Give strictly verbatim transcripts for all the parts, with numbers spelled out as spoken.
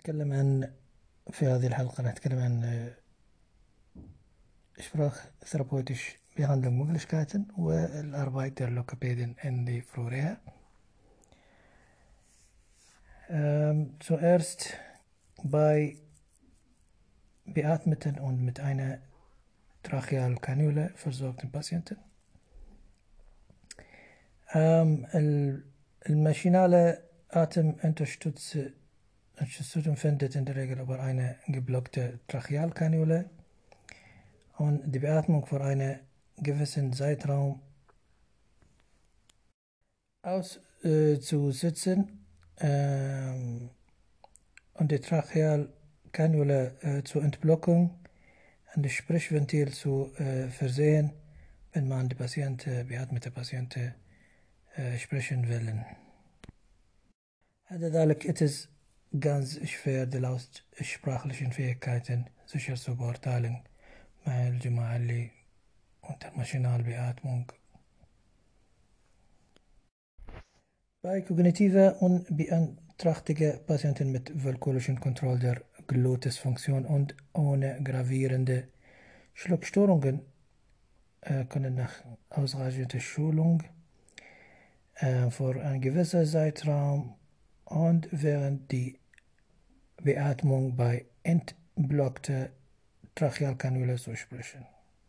نتكلم عن في هذه الحلقة نتكلم عن Sprachtherapeutisch Behandlungsmöglichkeiten والأربعة der Logopäden in die Florida. Ähm, zuerst bei beatmeten und mit einer Trachealkanüle versorgten Patienten. Ähm, الماشينale Atemunterstützung findet in der Regel über eine geblockte Trachealkanüle und die Beatmung für einen gewissen Zeitraum auszusetzen äh, ähm, und die Trachealkanüle äh, zur Entblockung und das Sprechventil zu äh, versehen, wenn man die Patienten, beatmete Patienten äh, sprechen will. لذلك it is ganz schwer die lautsprachlichen Fähigkeiten sicher zu beurteilen مع الجماعة اللي unter Maschinalbeatmung. Bei kognitiver und beeinträchtigter Patienten mit willkürlichen Kontrolle der Glutisfunktion und ohne gravierende Schluckstörungen äh, können nach ausreichender Schulung äh, für einen gewissen Zeitraum und während die Beatmung bei entblockter Trachealkanüle zu sprechen.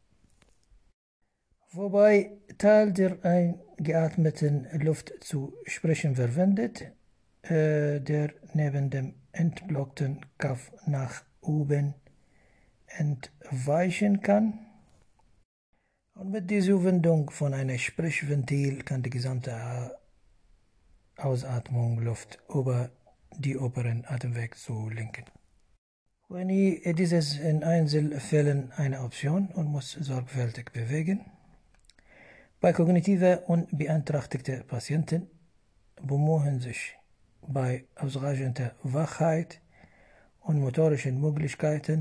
Wobei Teil der eingeatmeten Luft zu sprechen verwendet, äh, der neben dem entblockten Kopf nach oben entweichen kann. Und mit dieser Wendung von einem Sprechventil kann die gesamte Ausatmung Luft über die oberen Atemweg zu lenken. Wenn ihr dieses in Einzelfällen eine Option und muss sorgfältig bewegen. Bei kognitiven und beeinträchtigten Patienten bemühen sich bei ausreichender Wachheit und motorischen Möglichkeiten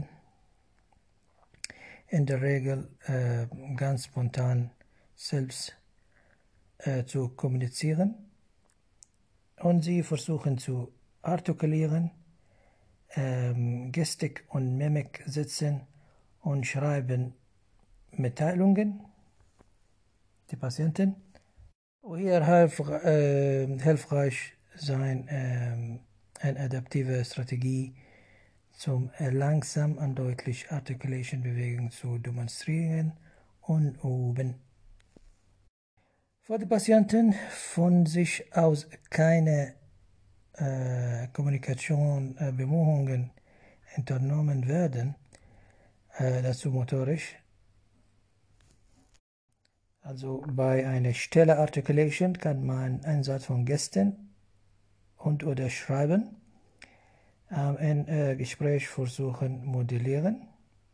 in der Regel äh, ganz spontan selbst äh, zu kommunizieren und sie versuchen zu artikulieren, ähm, Gestik und Mimik setzen und schreiben Mitteilungen. Die Patienten. Und hier hilf, äh, hilfreich sein äh, eine adaptive Strategie zum äh, langsam und deutlich Articulation Bewegungen zu demonstrieren und üben. Für die Patienten von sich aus keine äh, Kommunikation äh, Bemühungen unternommen werden, äh, dazu motorisch. Also bei einer Stelle Articulation kann man Einsatz von Gesten und oder Schreiben ähm, in äh, Gespräch versuchen modellieren.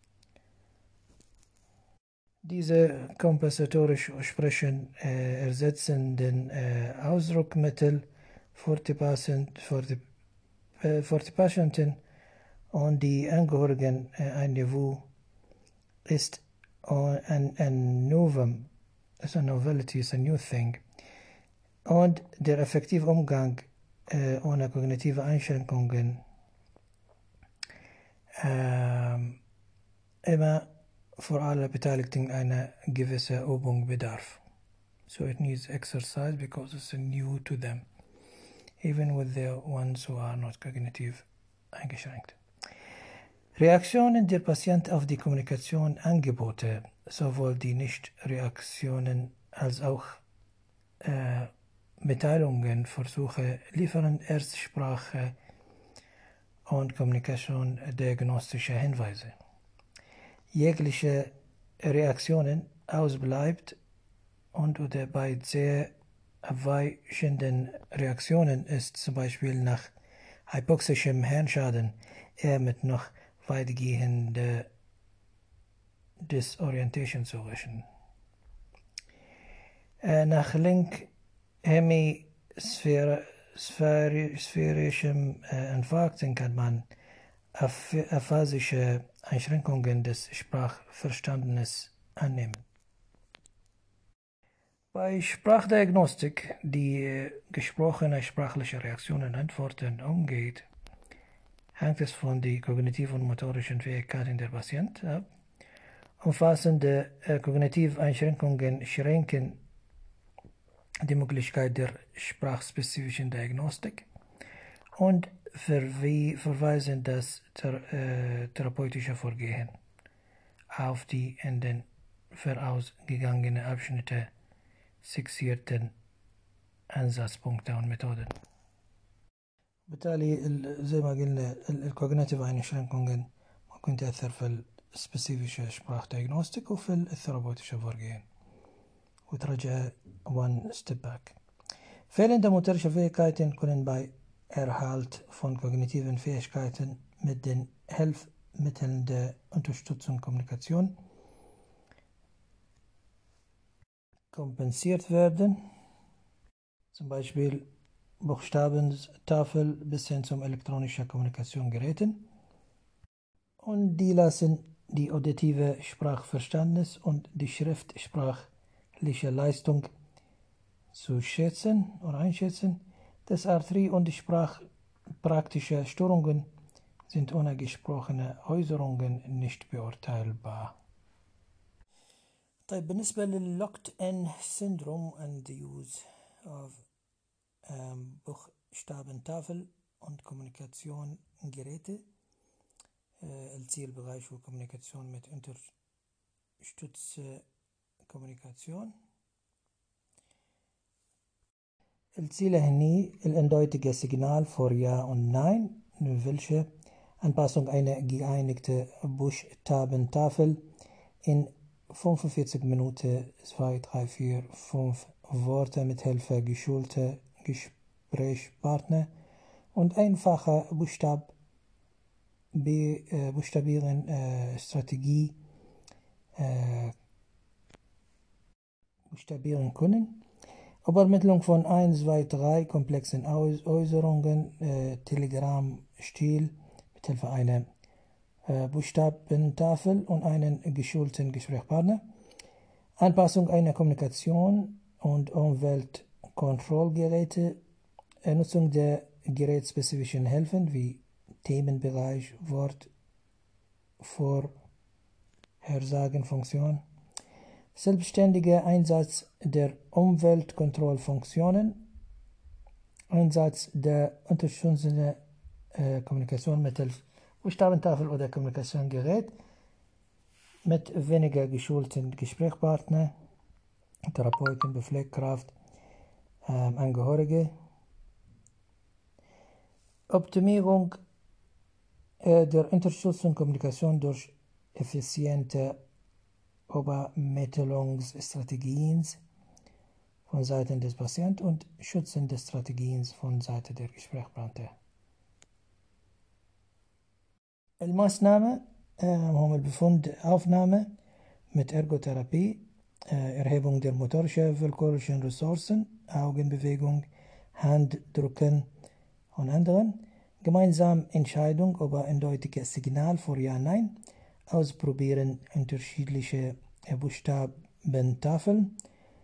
Diese kompensatorisch Sprechen äh, ersetzen den äh, Ausdruckmittel für die, Patient, für, die, äh, für die Patienten und die Angehörigen äh, ein Niveau ist ein, ein Novum. It's a novelty, it's a new thing. Und der effektive Umgang äh, ohne kognitive Einschränkungen äh, immer für alle Beteiligten eine gewisse Übung bedarf. So it needs exercise because it's new to them, even with the ones who are not cognitive eingeschränkt. Reaktionen der Patient auf die Kommunikation Angebote, sowohl die Nicht-Reaktionen als auch äh, Mitteilungen, Versuche liefern Erstsprache und Kommunikation diagnostische Hinweise. Jegliche Reaktionen ausbleibt und oder bei sehr abweichenden Reaktionen ist zum Beispiel nach hypoxischem Hirnschaden eher mit noch weitgehende Disorientation zu rechnen. Äh, nach linkshemisphärischem äh, Infarkten kann man aphasische Einschränkungen des Sprachverständnisses annehmen. Bei Sprachdiagnostik, die äh, gesprochene sprachliche Reaktionen Antworten umgeht, hängt es von den kognitiven und motorischen Fähigkeiten der Patienten ab. Umfassende äh, kognitive Einschränkungen schränken die Möglichkeit der sprachspezifischen Diagnostik und verwe verweisen das thera äh, therapeutische Vorgehen auf die in den vorausgegangenen Abschnitte fixierten أنزاتspunkte und Methoden. بالتالي زي ما قلنا الكوجنيتيف Einschränkungen ممكن تأثر في السبيسيفيك Sprach Diagnostik وفي الثيرابوتيشن Vorgehen وترجع one step back. Fehlende motorische Fähigkeiten können bei Erhalt von kognitiven Fähigkeiten mit den Hilfsmitteln der Unterstützung Kommunikation kompensiert werden. Zum Beispiel Buchstabentafel bis hin zum elektronischen Kommunikationsgeräten. Und die lassen die auditive Sprachverständnis und die schriftsprachliche Leistung zu schätzen oder einschätzen. Das Arthrie und die sprachpraktische Störungen sind ohne gesprochene Äußerungen nicht beurteilbar. طيب بالنسبة للlocked in syndrome and the use of um, Buchstabentafel und Kommunikationsgeräte. Uh, الzielbereich für Kommunikation mit unterstützte Kommunikation. الziele هني eindeutige Signal für Ja und Nein, welche Anpassung einer geeinigten Buchstabentafel in fünfundvierzig Minuten zwei, drei, vier, fünf Worte mit Hilfe geschulter Gesprächspartner und einfacher Buchstab Be, äh, Buchstabieren äh, Strategie äh, buchstabieren können. Übermittlung von eins, zwei, drei komplexen Äußerungen, äh, Telegram-Stil mit Hilfe einer äh, Buchstabentafel und einen geschulten Gesprächspartner. Anpassung einer Kommunikation und Umweltkontrollgeräte. Äh, Nutzung der gerätspezifischen Hilfen wie Themenbereich, Wort, Vorhersagenfunktion. Selbstständiger Einsatz der Umweltkontrollfunktionen. Einsatz der unterstützenden äh, Kommunikation mittels Buchstabentafel oder Kommunikationsgerät mit weniger geschulten Gesprächspartner, Therapeuten, Bepflegkraft, ähm, Angehörige. Optimierung äh, der Unterstützung Kommunikation durch effiziente Übermittlungsstrategien von Seiten des Patienten und schützende Strategien von Seiten der Gesprächspartner. الماßnahme هم البفند Aufnahme mit Ergotherapie, Erhebung der motorischen, willkürlichen Ressourcen, Augenbewegung, Handdrücken und anderen, gemeinsam Entscheidung über eindeutiges Signal für Ja, Nein, ausprobieren unterschiedliche Buchstabentafeln,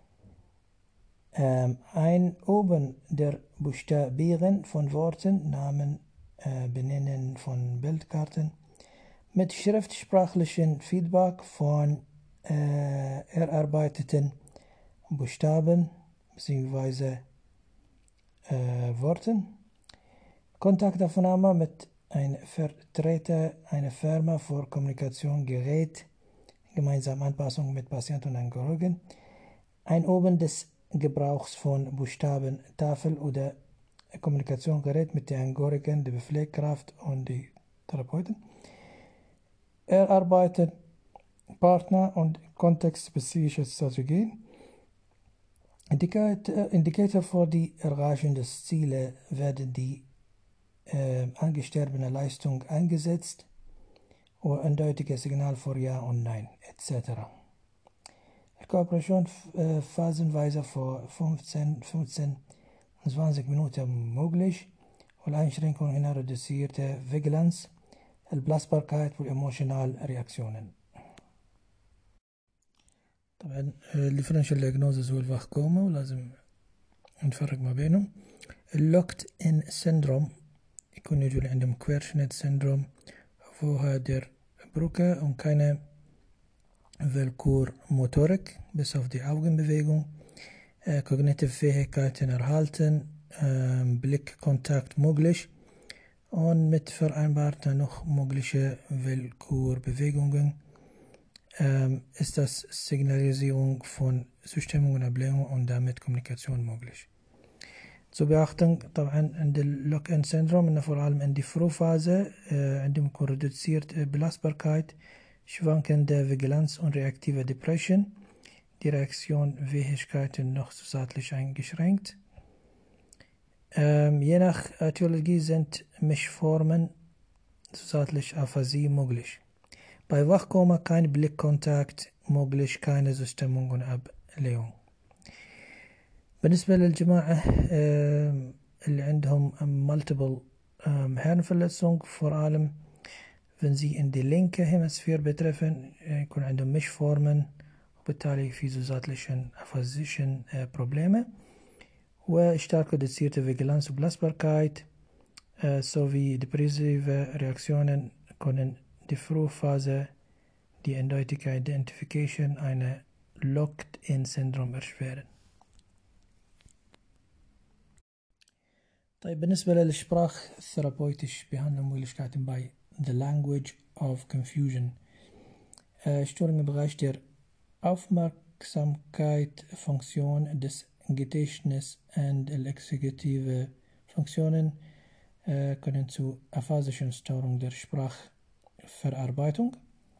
ähm, Einüben der Buchstabieren von Worten, Namen, äh, Benennen von Bildkarten, mit schriftsprachlichen Feedback von äh, erarbeiteten Buchstaben bzw. Äh, Worten, Kontaktaufnahme mit einem Vertreter einer Firma für Kommunikationsgerät, gemeinsame Anpassung mit Patienten und Angehörigen, Einüben des Gebrauchs von Buchstabentafel oder Kommunikationsgerät mit den Angehörigen, der Bepflegkraft und die Therapeuten, erarbeiten Partner- und kontextspezifische Strategien. Indikator, Indikator für die Erreichung des Ziels werden die äh, angestrebte Leistung eingesetzt oder eindeutiges Signal für Ja und Nein et cetera. Kooperation äh, phasenweise für fünfzehn, fünfzehn und zwanzig Minuten möglich und Einschränkungen in reduzierte Vigilanz, البلاسبركايت والإيموشنال رياكشنن. طبعا الديفرنشال دياجنوزز هو الفاهكوما ولازم نفرق ما بينهم. اللوكت ان سيندروم يكون يجوا عندهم Querschnitt Syndrom, vorher der Brücke und keine Willkürmotorik, bis auf die Augenbewegung, äh, kognitive Fähigkeiten erhalten, äh, Blickkontakt möglich und mit vereinbarter noch mögliche Willkürbewegungen ähm, ist das Signalisierung von Zustimmung und Ablehnung und damit Kommunikation möglich. Zu beachten طبعا عند اللوك-in Syndrom إنه vor allem in die Frühphase äh, عندهم يكون reduziert Belastbarkeit, schwankende Vigilanz und reaktive Depression, die Reaktionsfähigkeiten noch zusätzlich eingeschränkt. Ähm, je nach Ätiologie sind Mischformen zusätzlich Aphasie möglich. Bei Wachkoma kein Blickkontakt möglich, keine Zustimmung und Ablehnung. بالنسبة للجماعة اللي عندهم multiple Hirnverletzung, vor allem wenn sie in die linke Hemisphäre betreffen, يكون عندهم Mischformen وبالتالي في zusätzlichen aphasischen Probleme وstark reduzierte Vigilanz und Belastbarkeit sowie depressive Reaktionen können die Frühphase die eindeutige Identification einer Locked-in-Syndrom erschweren. طيب بالنسبة للإشبراخ الثيرابويتش behandeln Möglichkeiten bei The Language of Confusion. Äh, Störungen im Bereich der Aufmerksamkeit, Funktion des Gedächtnisses und exekutive Funktionen äh, können zu aphasischen Störungen der Sprachverarbeitung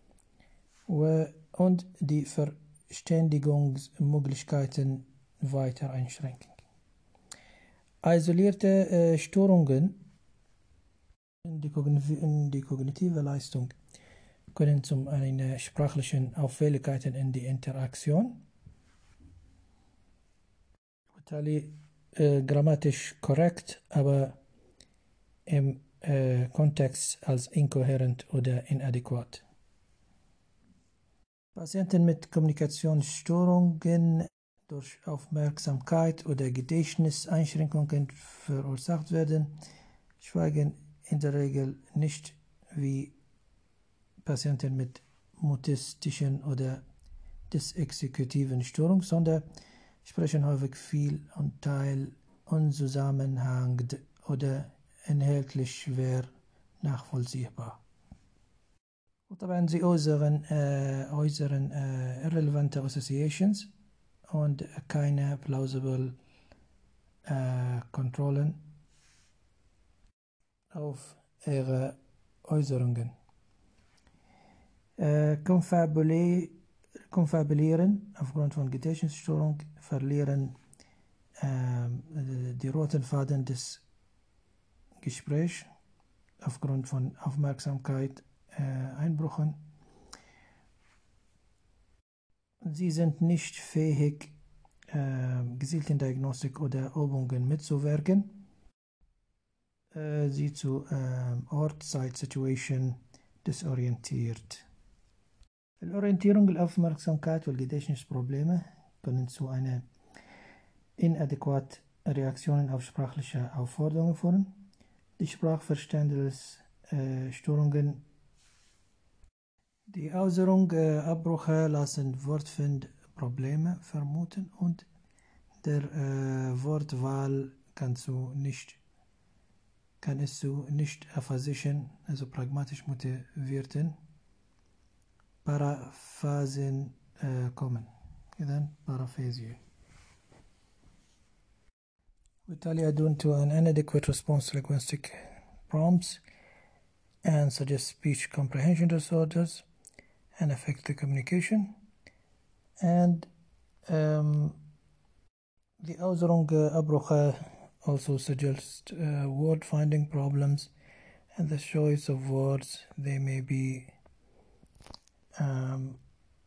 und die Verständigungsmöglichkeiten weiter einschränken. Isolierte äh, Störungen in die, in die kognitive Leistung können zum einen sprachlichen Auffälligkeiten in die Interaktion, بالتالي äh, grammatisch korrekt, aber im äh, Kontext als inkohärent oder inadäquat. Patienten mit Kommunikationsstörungen durch Aufmerksamkeit oder Gedächtniseinschränkungen verursacht werden, schweigen in der Regel nicht wie Patienten mit mutistischen oder disexekutiven Störungen, sondern sprechen häufig viel und teil unzusammenhängend oder inhaltlich schwer nachvollziehbar. وطبعا sie äußeren, äh, äußeren äh, irrelevante Associations und keine plausible äh, Kontrollen auf ihre Äußerungen. Äh, konfabulieren aufgrund von Gedächtnisstörung, verlieren äh, die roten Faden des Gesprächs aufgrund von Aufmerksamkeit, äh, Einbrüchen. Sie sind nicht fähig, äh, gezielten Diagnostik oder Übungen mitzuwirken. Äh, sie zu äh, Ort, Zeit, Situation desorientiert. Die Orientierung, die Aufmerksamkeit und Gedächtnisprobleme können zu einer inadäquaten Reaktion auf sprachliche Aufforderungen führen. Die Sprachverständnisstörungen, äh, die Äußerung äh, Abbrüche lassen Wortfindprobleme vermuten und der äh, Wortwahl kann, zu nicht, kann es zu nicht aphasischen, also pragmatisch motivierten Paraphasen äh, kommen. Then Paraphasie. بالتالي adun to an inadequate response to linguistic prompts and suggest speech comprehension disorders and affect the communication. And um, the Äußerung Abbrüche also suggest uh, word finding problems and the choice of words. They may be um,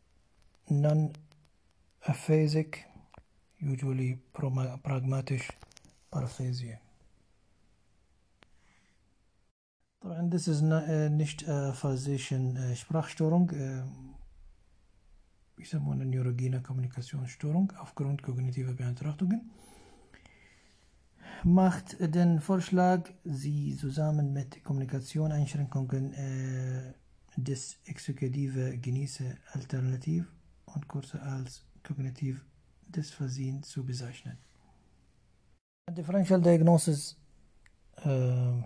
non-aphasic, usually pragmatic paraphasia. طبعا this is not, uh, nicht aphasischen uh, Sprachstörung, uh, يسمونها neurogene Kommunikationsstörung aufgrund kognitiver Beeinträchtigungen. macht den Vorschlag, Sie zusammen mit Kommunikation-Einschränkungen äh, des Exekutive genieße alternativ und kurze als kognitiv Dysphasien zu bezeichnen. Differential diagnosis uh,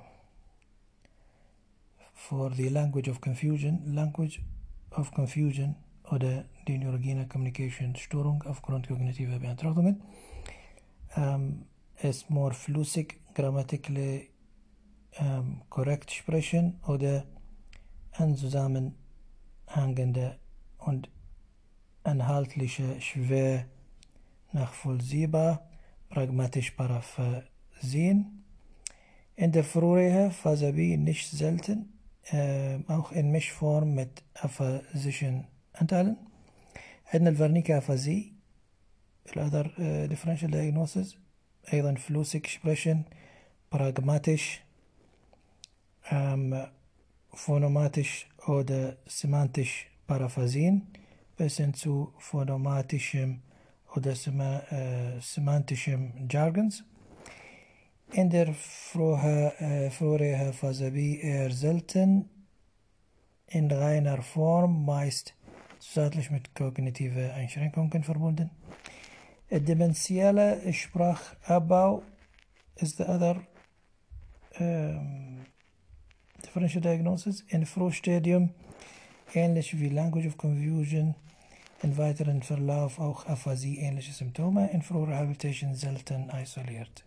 for the language of confusion, language of confusion oder die neurogene Kommunikationsstörung aufgrund kognitiver Beeinträchtigungen um, ist more flüssig, grammatically um, korrekt sprechen oder an zusammenhängende und inhaltliche schwer nachvollziehbar, pragmatisch paraphrasieren. In der früheren Phase B nicht selten, äh, auch in Mischform mit aphasischen Anteilen. عندنا الفرنيكا أفازي الأذر uh, differential diagnosis أيضا flüssig sprechen, pragmatisch, um, phonемatisch oder semantisch paraphrasieren, bis hin zu phonемatischem oder sema, äh, semantischem Jargons. In der früheren Phase B eher selten, in reiner Form, meist zusätzlich mit kognitiven Einschränkungen verbunden. Dementielle Sprachabbau ist the other um, differential diagnosis. In Frühstadium, ähnlich wie Language of Confusion, in weiteren Verlauf auch Aphasie ähnliche Symptome, in Frührehabilitation selten isoliert.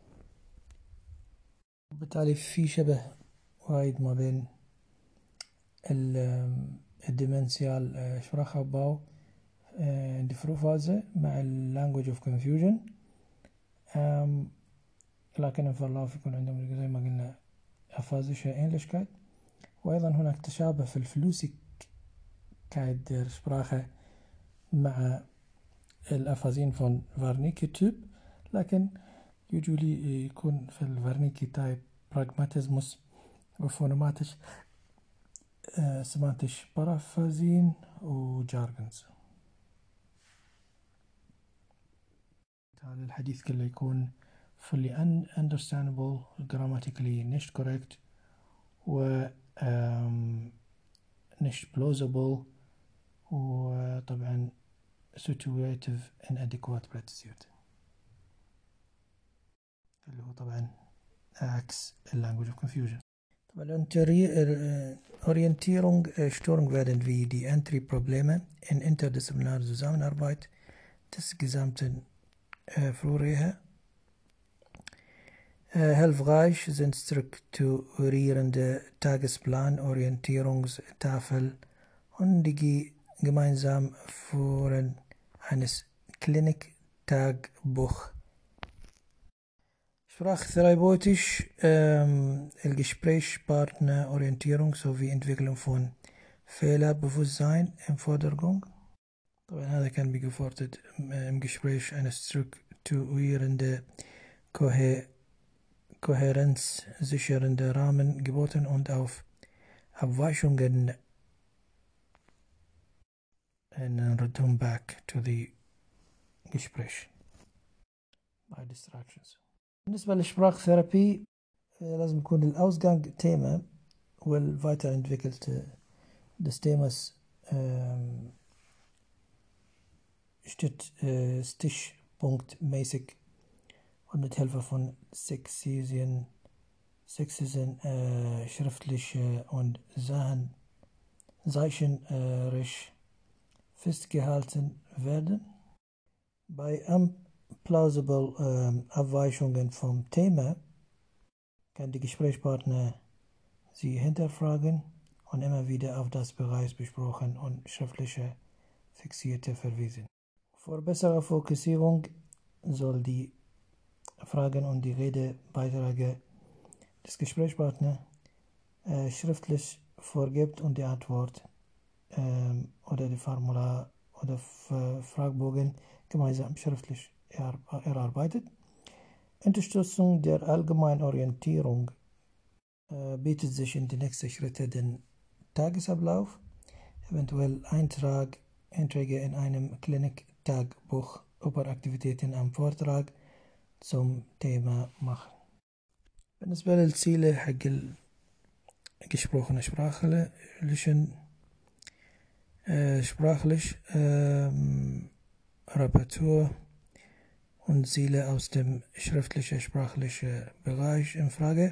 بالتالي في شبه وايد ما بين الديمنسيال Sprachabbau in die Frühphase مع Language of Confusion، لكن الفرلاف يكون عندهم زي ما قلنا أفازيشة Ähnlichkeit. وأيضا هناك تشابه في الفلوسيك كايد Sprache مع الأفازين von Wernicke Typ، لكن usually يكون في الفرنيكي تايب براغماتيزموس وفونوماتيش سمانتيش بارافازين وجارجنز. هذا الحديث كله يكون fully understandable, grammatically nicht correct و nicht plausible وطبعا situative inadequate platitude اللي هو طبعا عكس language of confusion. طبعا Orientierungsstörung werden wie die Entry-Probleme in interdisziplinärer Zusammenarbeit des gesamten äh, Frührehe äh, hilfreich sind strukturierende Tagesplan, Orientierungstafel und die gemeinsam Führen eines Klinik-Tagebuch. Sprachtherapeutisch ähm, Gesprächspartner Orientierung sowie Entwicklung von Fehlerbewusstsein im Vordergrund. طبعا هذا كان gefordert im Gespräch eine strukturierende Kohärenz sichernde Rahmen geboten und auf Abweichungen and return back to the Gespräch by distractions. بالنسبة للسبراخثيرابي لازم يكون الأوزغانج تيما والweiterentwickelte des Themas ähm, steht äh, stichpunktmäßig und mit Hilfe von Sexisien, Sexisen äh, schriftliche und Sachen zeichnerisch festgehalten werden. Bei plausible ähm, Abweichungen vom Thema kann die Gesprächspartner sie hinterfragen und immer wieder auf das bereits besprochen und schriftliche fixierte verweisen. Für bessere Fokussierung soll die Fragen und die Redebeiträge des Gesprächspartners äh, schriftlich vorgibt und die Antwort ähm, oder die Formular oder Fragebogen gemeinsam schriftlich erarbeitet. Unterstützung der allgemeinen Orientierung äh, bietet sich in die nächsten Schritte den Tagesablauf, eventuell Eintrag, Einträge in einem Klinik-Tagebuch über Aktivitäten am Vortrag zum Thema machen. بالنسبة للziele حق ال gesprochene sprachlichen äh, sprachlich ähm, Reparatur und Ziele aus dem schriftlichen sprachlichen Bereich in Frage.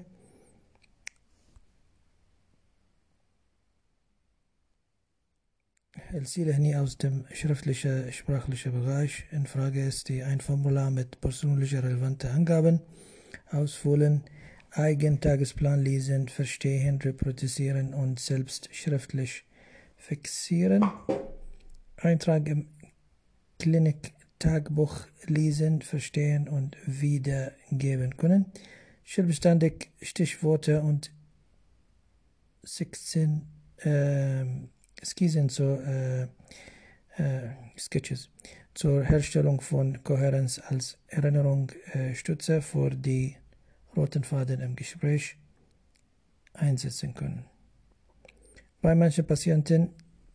الziele هني aus dem schriftlichen sprachlichen Bereich in Frage ist die ein Formular mit persönlicher relevanten Angaben ausfüllen, Eigentagesplan lesen, verstehen, reproduzieren und selbst schriftlich fixieren, Eintrag im Klinik-Tagebuch lesen, verstehen und wiedergeben können, selbstständig Stichworte und sechzehn äh, Skizzen zur äh, äh, Sketches zur Herstellung von Kohärenz als Erinnerungsstütze äh, für die roten Faden im Gespräch einsetzen können. Bei manchen Patienten,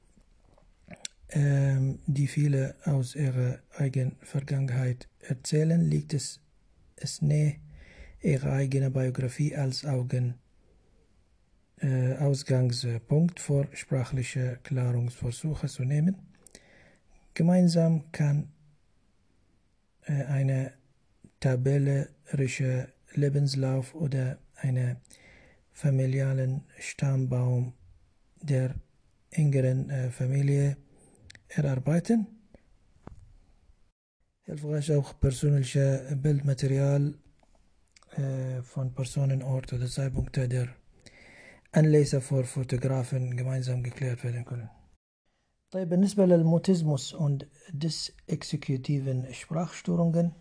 ähm, die viele aus ihrer eigenen Vergangenheit erzählen, liegt es, es nahe, ihre eigene Biografie als Augen, äh, Ausgangspunkt für sprachliche Klärungsversuche zu nehmen. Gemeinsam kann äh, eine tabellerische Lebenslauf oder eine familialen Stammbaum der engeren äh, Familie erarbeiten. Hilfreich auch persönliche Bildmaterial äh, von Personen, Ort oder Zeitpunkte der Anlässe für Fotografen gemeinsam geklärt werden können. طيب بالنسبة للموتيزموس und disexekutiven Sprachstörungen.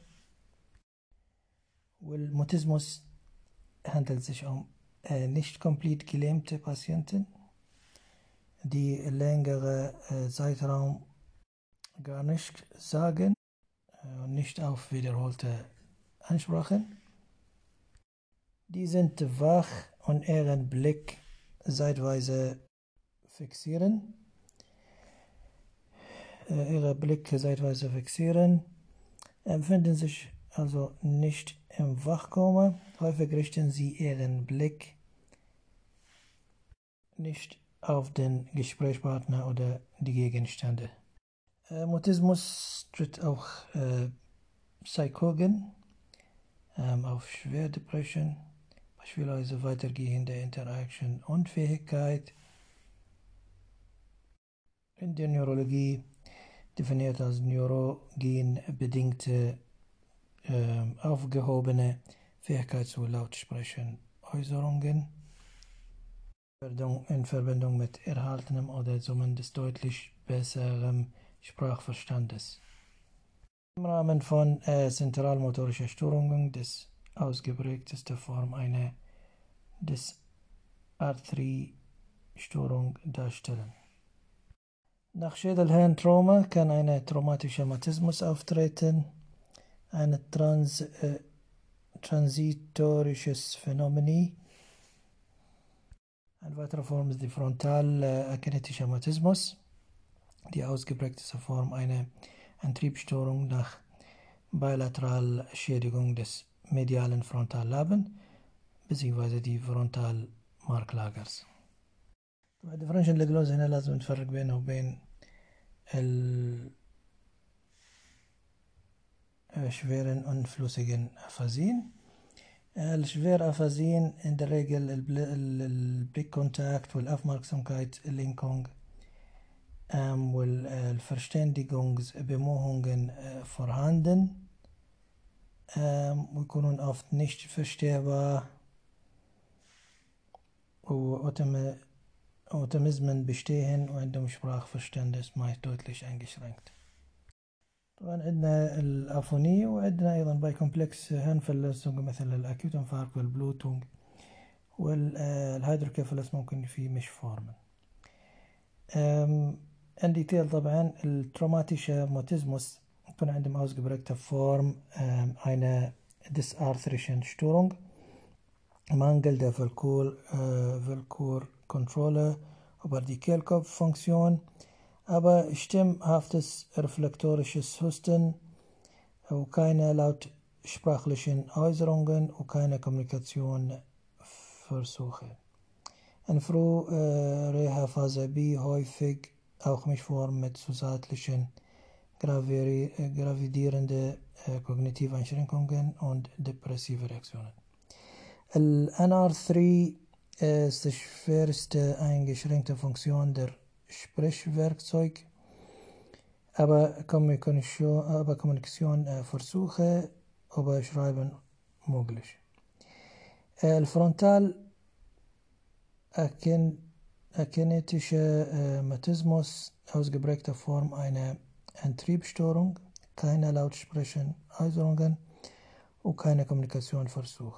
والموتيزموس handelt sich um äh, nicht komplett gelähmte Patienten, die längere äh, Zeitraum gar nicht sagen äh, und nicht auf wiederholte Ansprachen. Die sind wach und ihren Blick zeitweise fixieren. Äh, ihre Blicke zeitweise fixieren, empfinden sich also nicht im Wachkoma. Häufig richten sie ihren Blick nicht auf den Gesprächspartner oder die Gegenstände. Äh, Mutismus tritt auch äh, Psychogen ähm, auf Schwerdepression, beispielsweise weitergehende Interaction Unfähigkeit. In der Neurologie definiert als neurogenbedingte äh, aufgehobene Fähigkeit zu Lautsprechen Äußerungen in Verbindung mit erhaltenem oder zumindest deutlich besserem Sprachverstandes. Im Rahmen von äh, zentralmotorischer Störungen des ausgeprägteste Form einer Dysarthrie-Störung darstellen. Nach Schädelhirntrauma kann ein traumatischer Mutismus auftreten, ein trans, äh, transitorisches Phänomen. Eine weitere Form ist die frontal-akinetische Mutismus, die ausgeprägteste Form einer Antriebsstörung nach Bilateralschädigung des medialen Frontallaben bzw. die Frontalmarklagers. الديفرنشال الجلوز هنا لازم نفرق بينه وبين الشفيرن unflüssigen Aphasien. الشفير أفازين in der Regel البليكkontakt والأفmerksamkeitslenkung ähm, والverständigungsbemühungen äh, vorhanden ähm, ويكونون oft nicht verstehbar وأوتمزمن bestehen وعندهم Sprachverständnis meist deutlich eingeschränkt. طبعا عندنا الأفونية وعندنا أيضا باي كومبلكس هنفلسونج مثل الأكيوت انفاركت والبلوتونج والهيدروكيفالس ممكن في مش فورمن. ان ديتيل طبعا التروماتيشا موتيزموس يكون عندهم ausgeprägte Form eine dysarthrischen Störung, Mangel der Willkürkontrolle über die Kehlkopffunktion, aber stimmhaftes reflektorisches Husten und keine laut sprachlichen Äußerungen und keine Kommunikationsversuche. In früherer Phase B häufig auch Mischform mit zusätzlichen gravierenden äh, kognitiven Einschränkungen und depressive Reaktionen. N R drei ist die schwerste eingeschränkte Funktion der Sprechwerkzeug, aber Kommunikation, aber Kommunikation äh, Versuche über Schreiben möglich. El Frontal akinetische äh, Mutismus, ausgeprägter Form einer Antriebsstörung, keine lautsprechenden Äußerungen und keine Kommunikationsversuch.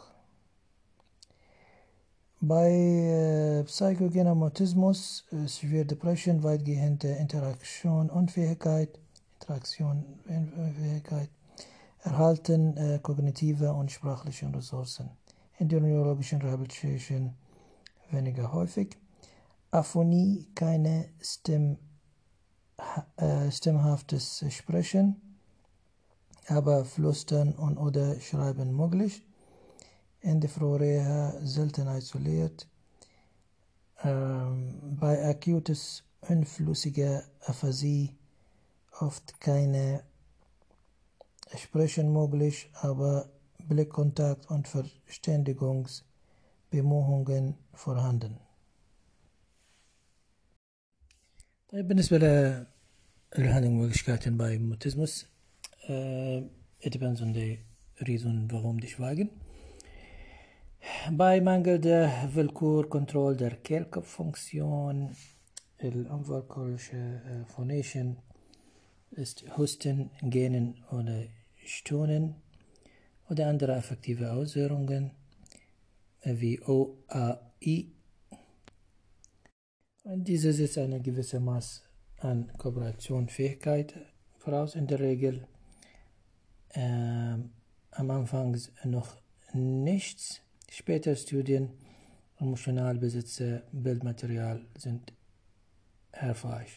Bei äh, psychogener Mutismus, äh, Severe Depression, weitgehende Interaktionsunfähigkeit, Interaktionsunfähigkeit, erhalten äh, kognitive und sprachliche Ressourcen. In der neurologischen Rehabilitation weniger häufig. Aphonie, keine Stimm, äh, stimmhaftes Sprechen, aber Flüstern und oder Schreiben möglich. In der Frühreha selten isoliert. Ähm, bei akutes unflüssiger Aphasie oft keine Sprechen möglich, aber Blickkontakt und Verständigungsbemühungen vorhanden. طيب بالنسبة للhandlungsmöglichkeiten bei Mutismus, uh, it depends on the reason warum die schweigen. Bei Mangel der Willkürkontrolle der Kehlkopffunktion, الunwillkürliche uh, Phonation ist Husten, Gähnen oder Stöhnen oder andere affektive Auswirkungen wie O, A, I. Und diese setzt eine gewisse Maß an Kooperationsfähigkeit voraus, in der Regel ähm, am Anfang noch nichts. Später Studien emotional besitze Bildmaterial sind hilfreich.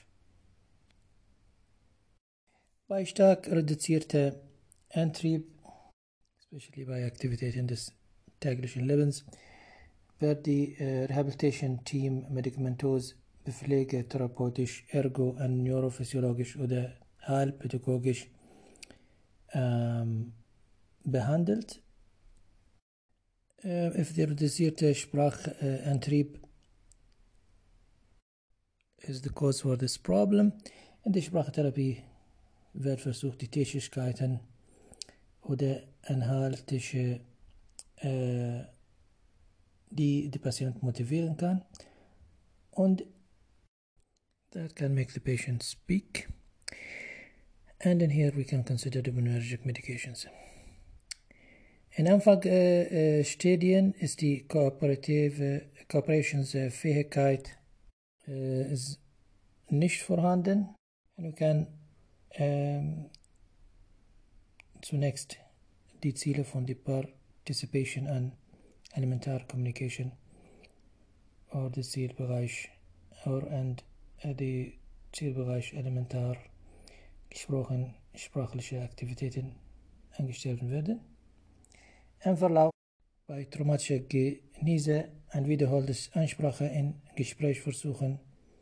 Bei stark reduzierter Antrieb, especially bei Aktivitäten des täglichen Lebens, wird die äh, Rehabilitation Team medikamentös, pflegetherapeutisch, ergo- und neurophysiologisch oder heilpädagogisch ähm, behandelt. Äh, if der reduzierte Sprachantrieb äh, is the cause for this problem, in der Sprachtherapie wird versucht, die Tätigkeiten oder inhaltliche äh, die die Patient motivieren kann, und that can make the patient speak. And in here we can consider dopaminergic medications. In Anfangsstadien äh, ist die kooperative Kooperationsfähigkeit äh, ist nicht vorhanden. Und wir können ähm, zunächst die Ziele von der Participation an Elementar Communication oder der Zielbereich oder und der Zielbereich Elementar gesprochen sprachliche Aktivitäten angestellt werden. Im Verlauf bei traumatischer Genese ein wiederholtes Ansprache in Gesprächsversuchen,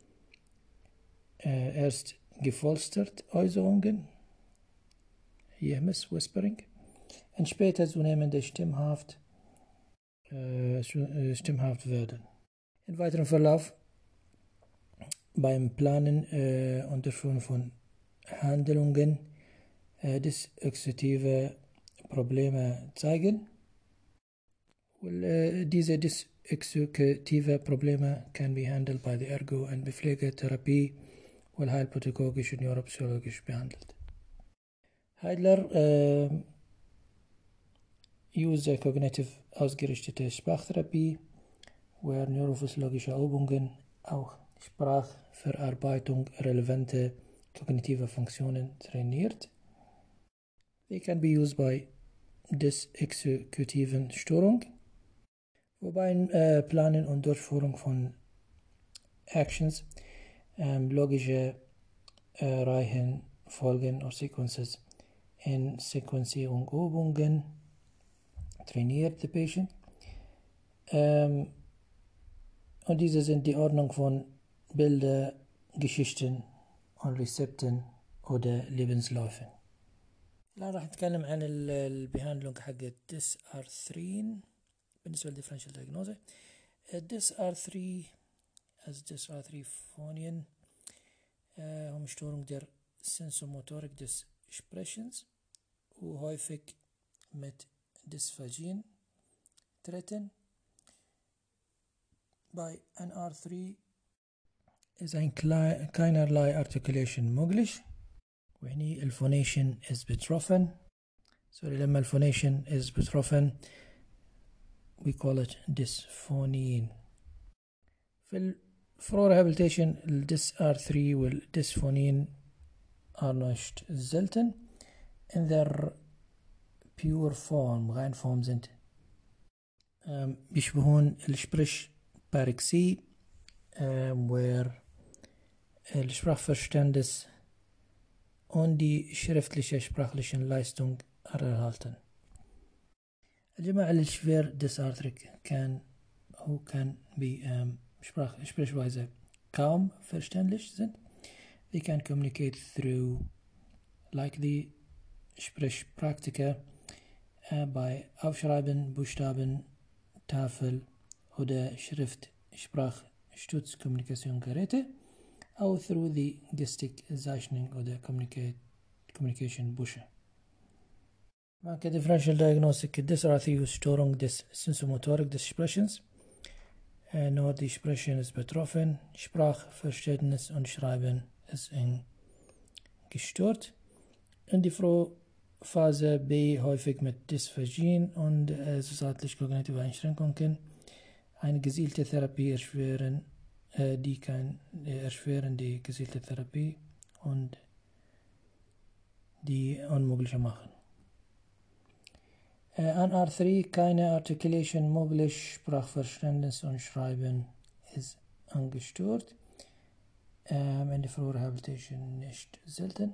äh, erst geflüstert Äußerungen, Yehmes Whispering, und später zunehmende stimmhaft, äh, stimmhaft werden. Im weiteren Verlauf beim Planen äh, und Durchführen von Handlungen äh, disexekutive Probleme zeigen. Well, uh, diese disexekutive Probleme can be handled by the Ergo- und Pflegetherapie, und heilpädagogisch und neuropsychologisch behandelt. Heidler uh, use cognitive ausgerichtete Sprachtherapie, where neurophysiologische Übungen auch Sprachverarbeitung relevante kognitive Funktionen trainiert. They can be used by disexekutiven Störung, wobei äh, Planen und Durchführung von Actions, ähm, logische äh, Reihenfolgen oder Sequences in Sequenzierung Übungen trainiert the patient. Ähm, und diese sind die Ordnung von Bilder, Geschichten und Rezepten oder Lebensläufen. الآن راح نتكلم عن البيهاندلونج حق ديس ار ثلاثة بالنسبة للديفرنشال دايجنوزا. ديس ار ثلاثة as ديس ار ثلاثة phonien هم Störung der Sensomotorik des Sprechens und häufig mit Dysphagien treten. Bei N R drei ist ein keinerlei Articulation möglich. وهني الفونيشن is betroffen. سوري لما الفونيشن is betroffen we call it dysphonine. في الفرو rehabilitation الديس ار ثلاثة والديسفونين are nicht selten in their pure form rein form sind بيشبهون السبرش باركسي where الsprachverständnis und die schriftliche sprachlichen Leistung erhalten. الجماعة اللي schwer dysarthric kann auch kann wie ähm, Sprach, Sprechweise kaum verständlich sind. They can communicate through like the Sprechpraktiker äh, bei Aufschreiben, Buchstaben, Tafel oder Schrift, Sprachstützkommunikationsgeräte, auch through the Gestik, Zeichnung oder Communication Busche. Manche Differential Diagnostic Dysarthrie Störung des Sensomotorik des Sprechens. Äh, nur die Sprechen ist betroffen, Sprachverständnis und Schreiben ist gestört. In die Frühphase B häufig mit Dysphagien und äh, zusätzlich-kognitive Einschränkungen. Eine gezielte Therapie erschweren, äh, die kann äh, erschweren die gezielte Therapie und die unmöglich machen. Äh, N R drei keine Articulation möglich, Sprachverständnis und Schreiben ist angestört. Ähm, in der Frührehabilitation nicht selten.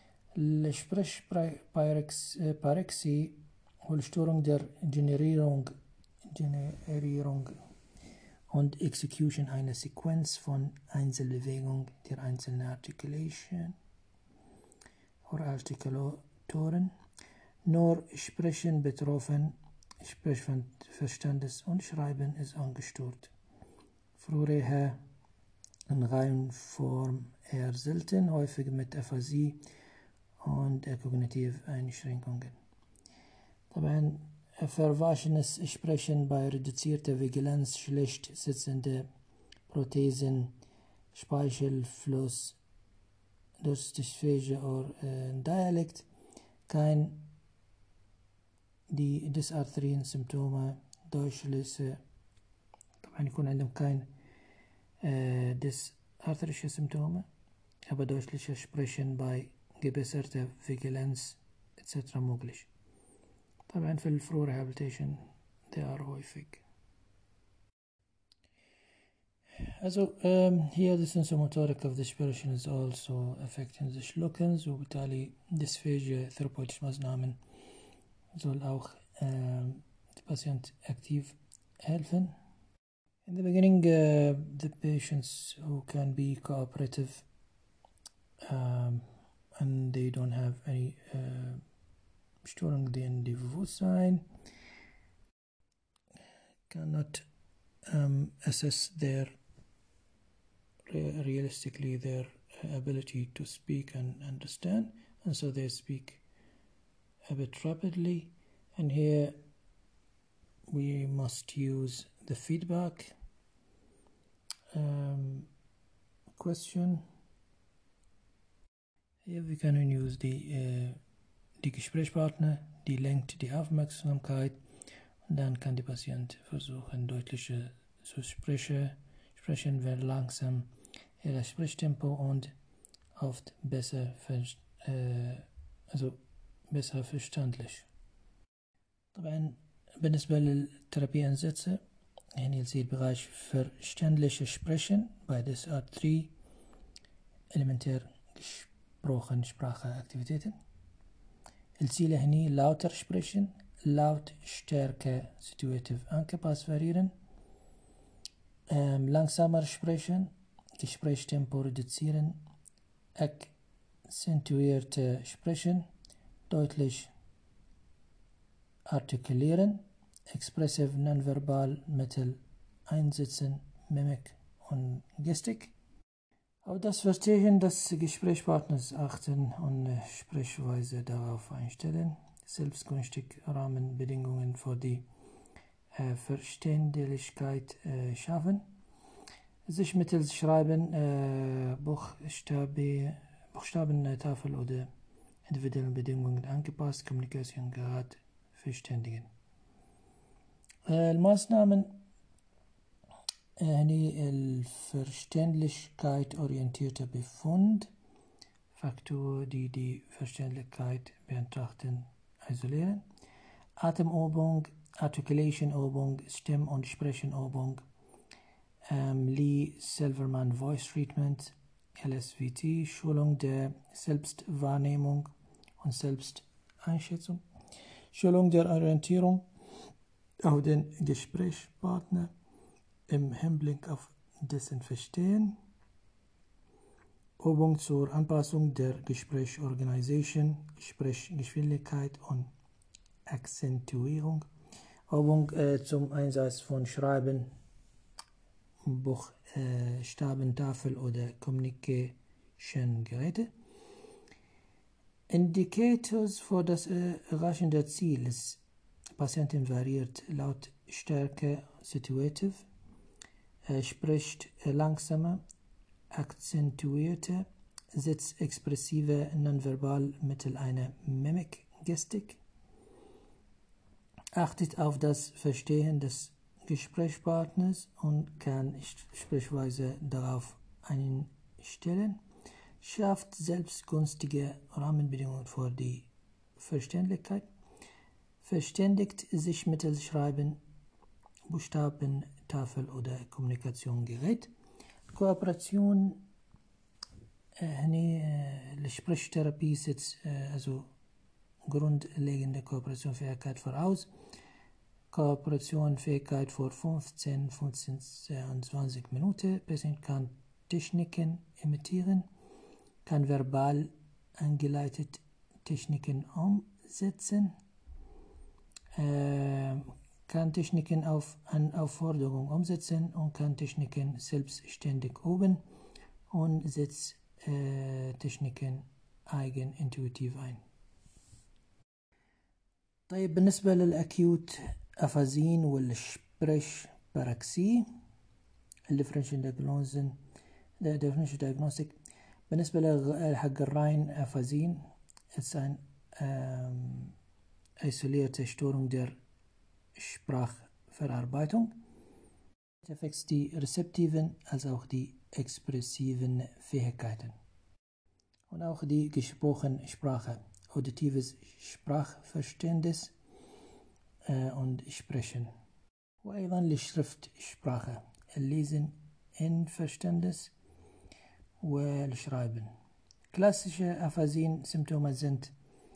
Sprechparexie und Störung der Generierung, Generierung und Execution einer Sequenz von Einzelbewegungen der einzelnen Articulation oder Artikulatoren. Nur Sprechen betroffen, Sprechverständnis und Schreiben ist angestört. Frühere in Reihenform eher selten, häufig mit Aphasie und kognitive Einschränkungen. طبعا verwaschenes Sprechen bei reduzierter Vigilanz, schlecht sitzende Prothesen, Speichelfluss, Durstigsphagie oder äh, Dialekt, kein die dysarthrien Symptome deutliche طبعا يكون عندهم kein äh, dysarthrische Symptome, aber deutliche Sprechen bei gebesserter Vigilanz et cetera möglich. طبعا في الفرو rehabilitation they are häufig. Also um, here the sensomotoric of the expression is also affecting the Schluckens وبالتالي Dysphagia therapeutische Maßnahmen soll auch um, the patient aktiv helfen. In the beginning uh, the patients who can be cooperative um, and they don't have any uh, Störung in the Bewusstsein cannot um, assess their re realistically their ability to speak and understand, and so they speak a bit rapidly, and here we must use the feedback um, question. Here we can use the uh, die Gesprächspartner, die lenkt die Aufmerksamkeit und dann kann der Patient versuchen deutlicher zu sprechen, sprechen wird langsam ihr Sprechtempo und oft besser äh, also besser verständlich. طبعا بالنسبة للثيرابيانsätze هنا يصير Bereich verständliche Sprechen bei ديس ار ثلاثة elementär gesprochen Spracheaktivitäten. الزيلة هني lauter sprechen, Lautstärke situativ angepasst variieren, ähm, langsamer sprechen, Gesprächstempo reduzieren, akzentuierte sprechen, deutlich artikulieren, expressive nonverbal Mittel einsetzen, Mimik und Gestik. Auf das Verstehen des Gesprächspartners achten und Sprechweise darauf einstellen, selbstgünstig Rahmenbedingungen für die äh, Verständlichkeit äh, schaffen, sich mittels Schreiben, äh, Buchstabe, Buchstabentafel oder individuellen Bedingungen angepasst, Kommunikation gerade verständigen. äh, الماßnahmen يعني الverständlichkeit orientierte Befund, Faktoren, die die Verständlichkeit betrachten, isolieren, Atemübung, Articulation-Übung, Stimm- und Sprechenübung, ähm, Lee Silverman Voice Treatment, L S V T, Schulung der Selbstwahrnehmung und Selbsteinschätzung, Schulung der Orientierung auf den Gesprächspartner im Hinblick auf dessen Verstehen, Übung zur Anpassung der Gesprächsorganisation, Gesprächsgeschwindigkeit und Akzentuierung, Übung äh, zum Einsatz von Schreiben, Buchstabentafel äh, oder Communication-Geräte. Indicators für das äh, Erreichen der Ziel des Patienten variiert Lautstärke situativ, er spricht äh, langsamer, akzentuierte, sitzexpressive nonverbal Mittel einer Mimik, Gestik, achtet auf das Verstehen des Gesprächspartners und kann Sprechweise darauf einstellen, schafft selbstgünstige Rahmenbedingungen für die Verständlichkeit, verständigt sich mittels Schreiben, Buchstabentafel oder Kommunikationsgerät, Kooperation, هني السبريشثيرابي setzt also grundlegende Kooperationsfähigkeit voraus. Kooperationsfähigkeit vor fünfzehn, fünfzehn, zwanzig Minuten. Patient kann Techniken imitieren, kann verbal angeleitete Techniken umsetzen, äh, kann Techniken auf an Aufforderung umsetzen und kann Techniken selbstständig üben und setzt äh, Techniken eigenintuitiv ein. طيب بالنسبة للأكيوت أفازين والشبرش باراكسي الديفرنشال دايجنوزن differential diagnostic بالنسبة لحق الراين أفازين it's ein ähm, isolierte Störung der Sprachverarbeitung. Effekts die rezeptiven als auch die expressiven Fähigkeiten und auch die gesprochene Sprache, auditives Sprachverständnis äh, und Sprechen. وأيضا للشرiftsprache, Lesen in Verständnis والschreiben. Klassische Aphasien-Symptome sind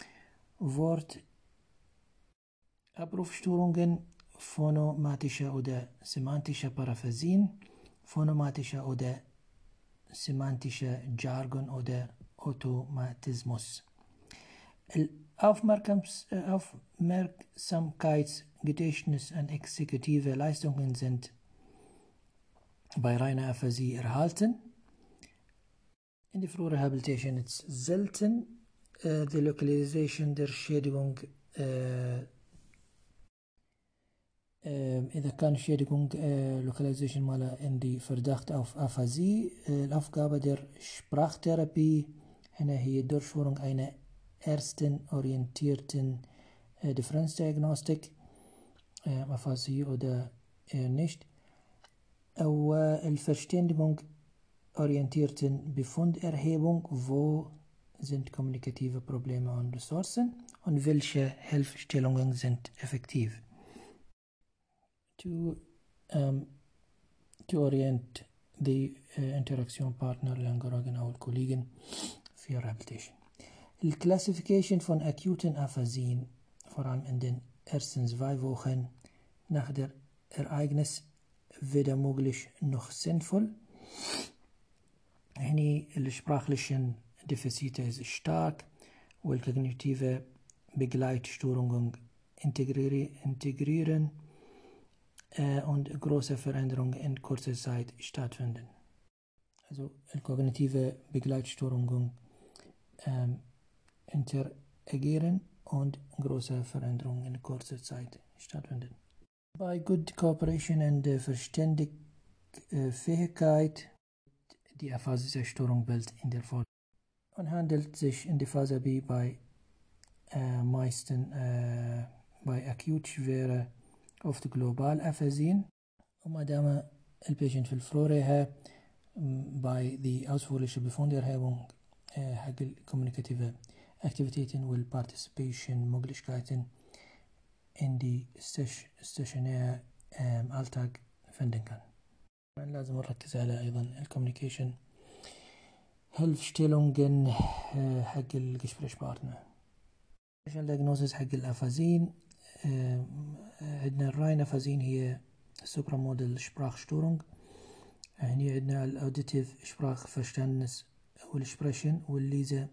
Wortabrufstörungen, phonomatische oder semantische Paraphasien, phonomatische oder semantische Jargon oder Automatismus. Aufmerksams, Aufmerksamkeitsgedächtnis und exekutive Leistungen sind bei reiner Aphasie erhalten. In der Frührehabilitation ist selten äh, die Lokalisation der Schädigung äh, إذا كان Schädigung äh, Lokalisation mal in die Verdacht auf Aphasie, äh, Aufgabe der Sprachtherapie هنا هي Durchführung einer ersten orientierten äh, Differenzdiagnostik, äh, Aphasie oder äh, nicht, أو الverständigung orientierten Befunderhebung, wo sind kommunikative Probleme und Ressourcen und welche Hilfestellungen sind effektiv. To, um, to orient the uh, interaction partner للانجراجن أو الكوليجن في rehabilitation. الكلاسيفيكيشن von akuten Aphasien, vor allem in den erstens zwei Wochen nach der Ereignis weder möglich noch sinnvoll. هني الsprachlichen Defizite ist stark والkognitive Begleitstörungen integrieren äh, und große Veränderungen in kurzer Zeit stattfinden. Also kognitive Begleitstörungen ähm, interagieren und große Veränderungen in kurzer Zeit stattfinden. Bei Good Cooperation und äh, Verständigfähigkeit die Aphasiestörung Bild in der Folge und handelt sich in der Phase B bei äh, meisten äh, bei akut schwere oft global Aphasien وما دام البيشنت في الفلوريها bei die ausführliche Befunderhebung äh, حق الكوميونيكاتيف Aktivitäten und Participation Möglichkeiten in die stationäre äh, Alltag finden kann. لازم نركز على أيضا الكوميونيكيشن هلفstellungen حق الجesprächspartner. عشان diagnosis حق الأفازين عندنا الراين أفازين هي سوبرامودال Sprachstörung. هني عندنا الأوديتيف Sprachverständnis والإكسبريشن والليزة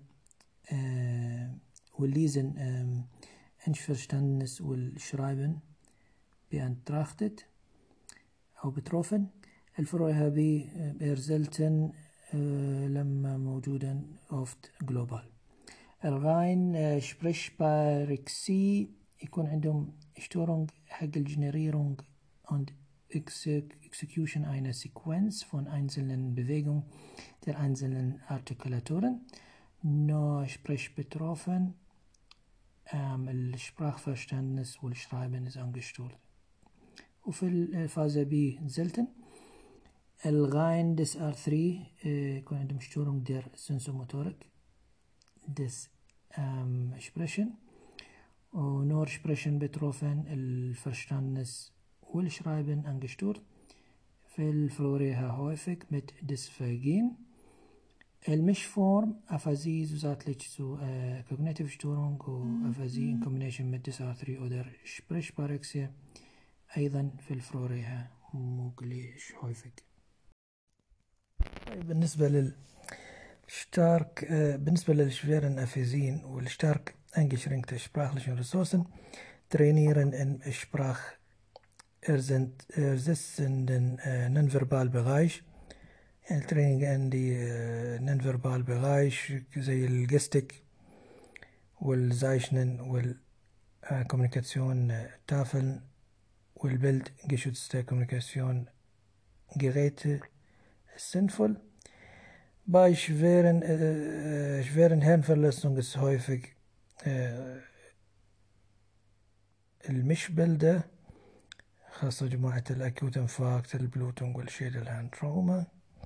والليزن Einverständnis والschreiben beantrachtet أو betroffen. الفروع هذه eher selten لما موجودا oft global. الغاين Sprechbarexie يكون عندهم Störung حق الجنرierung und Execution einer Sequenz von einzelnen Bewegungen der einzelnen Artikulatoren. No Sprechbetroffen ähm, الsprachverständnis والschreiben ist angestört. وفي الفازة B selten. الغاين des R three يكون عندهم Störung der Sensomotorik des ähm, Sprechen und nur Sprechen betroffen الverständnis والschreiben angestört. في الفلوريها häufig mit Dysphagien. المشفورم أفازي zusätzlich zu äh, Cognitive Störung وأفازي in combination mit des R three oder Sprechbarexie أيضا في الفلوريها möglich häufig. بالنسبة للstark äh, بالنسبة للschweren Aphasien والstark eingeschränkte sprachlichen Ressourcen trainieren im sprachersetzenden äh, Nonverbalbereich. التريننج عندي نونفربال بغايش زي الجستيك والزايشنن والكوميونيكاسيون تافل والبلد geschützte Kommunikation Geräte sinnvoll. Bei schweren, äh, schweren Hirnverletzungen ist häufig äh, المشبلدة خاصة جماعة الأكيوت انفاكت البلوتونج والشيدل هاند تروما.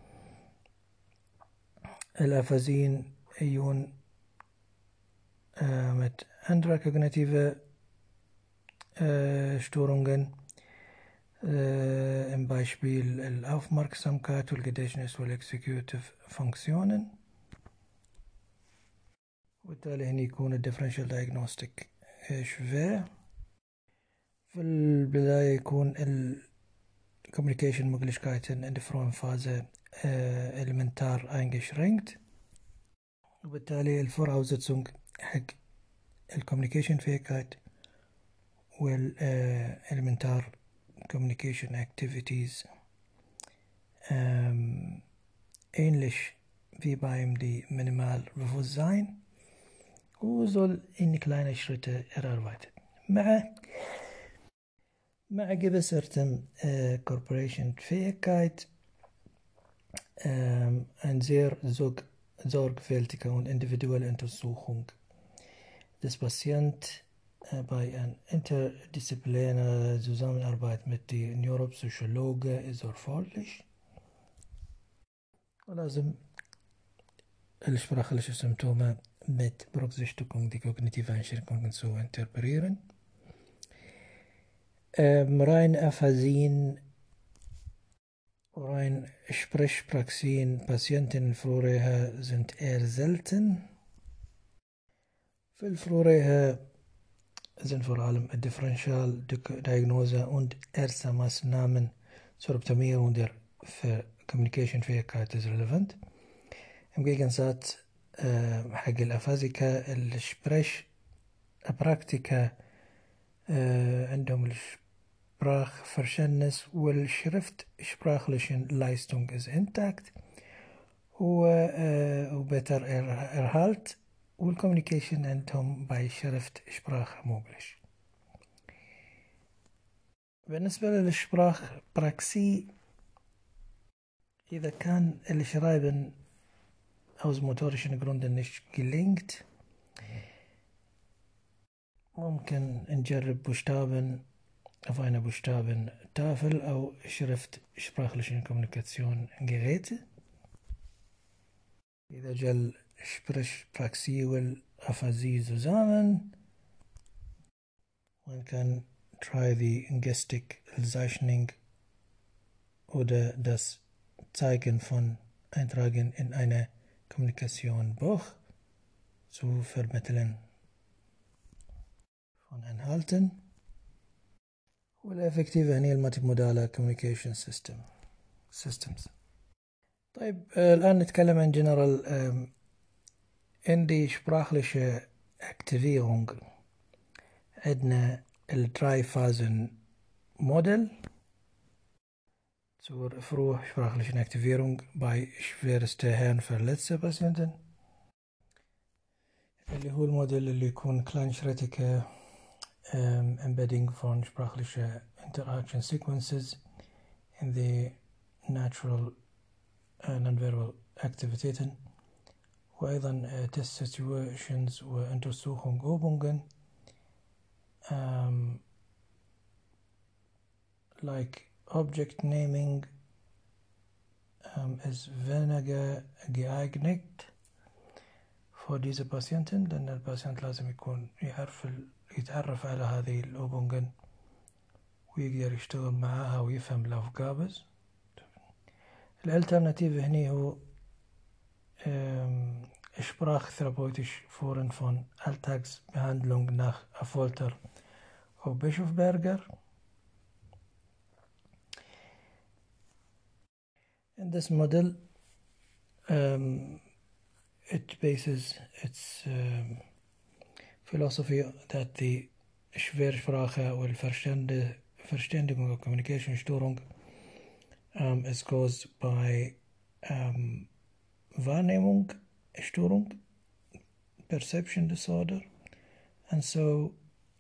الأفازين يون äh, mit anderer kognitive äh, Störungen äh, im Beispiel الأوفماركسامكات والجديشنس والexecutive Funktionen. وبالتالي هنا يكون الديفرنشال diagnostic schwer. في البداية يكون الcommunication Möglichkeiten in der frühen Phase äh, elementar eingeschränkt. وبالتالي الvoraussetzung حق الcommunication Fähigkeit والelementar communication activities ähm, ähnlich wie beim die Minimalbewusstsein und soll in kleine Schritte erarbeitet. مع مع gewissertem äh, Corporation Fähigkeit ähm, ein sehr sorg sorgfältige und individuelle Untersuchung des Patienten äh, bei einer interdisziplinären Zusammenarbeit mit den Neuropsychologen ist erforderlich. ولازم الsprachliche Symptome mit Berücksichtigung die kognitiven Einschränkungen zu interpretieren. Ähm, rein Aphasien, rein Sprechpraxien, Patienten Florreha sind eher selten. في الفلوريها sind vor allem Differentialdiagnose und erste Maßnahmen zur Optimierung der Communication-Fähigkeit ist relevant. Im Gegensatz äh, حق الأفازيكا السبريش براكتيكا äh, عندهم Sprachverständnis والشرفت sprachlichen Leistung ist intakt و äh, وبتر Erhalt والcommunication عندهم bei شرفت Sprache möglich. بالنسبة للسprachpraxie إذا كان الschreiben aus motorischen Gründen nicht gelingt ممكن نجرب Buchstaben auf einer Buchstabentafel أو Schrift sprachlichen Kommunikationsgeräte. إذا جل Sprachpraxie والأفازي zusammen man kann try the Gestik Zeichnung oder das Zeigen von Eintragen in eine Kommunikationsbuch zu vermitteln von Inhalten. والإفكتيفة هي المالتيمودال communication system systems. طيب آه الآن نتكلم عن general ähm, in die sprachliche Aktivierung عندنا الدراي-Phasen Modell zur frühsprachlichen Aktivierung bei schwerste Hirnverletzte Patienten اللي هو الموديل اللي يكون kleinschrittige um, embedding von sprachliche interaction sequences in the natural uh, nonverbal Aktivitäten وأيضا uh, test situations وuntersuchung Übungen um, like object naming um, ist weniger geeignet für diese Patienten لأن الباتient لازم يكون يعرف يتعرف على هذه الأوبونجن ويقدر يشتغل معها ويفهم الأفكابز. الالترناتيف هني هو Sprachtherapeutisch Foren von Alltagsbehandlung nach Affolter oder Bischofberger. In this model um, it bases its um, philosophy that the Schwersprache or Verständigung or communication Störung um, is caused by um, Wahrnehmung Störung, perception disorder, and so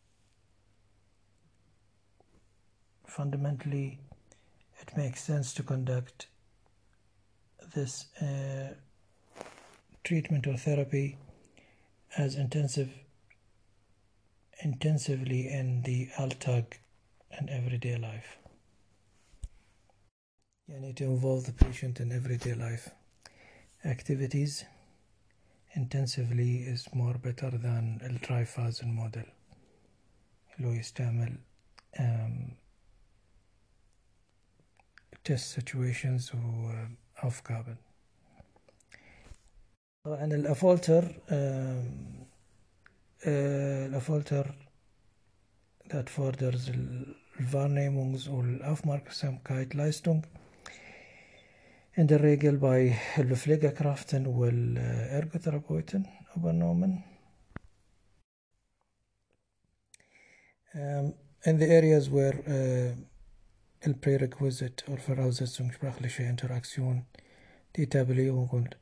fundamentally it makes sense to conduct this uh, treatment or therapy as intensive intensively in the Alltag and everyday life. You need to involve the patient in everyday life activities intensively is more better than the tri-Phasen model اللي هو يستعمل um, test situations وأفكار. طبعا الأفولتر الأفولتر that forders الwahrnehmungs- und Aufmerksamkeitsleistung in der Regel bei Pflegekräften und Ergotherapeuten übernommen. Um, in the areas where uh, el prerequisite or Voraussetzung sprachliche Interaktion, die Etablierung und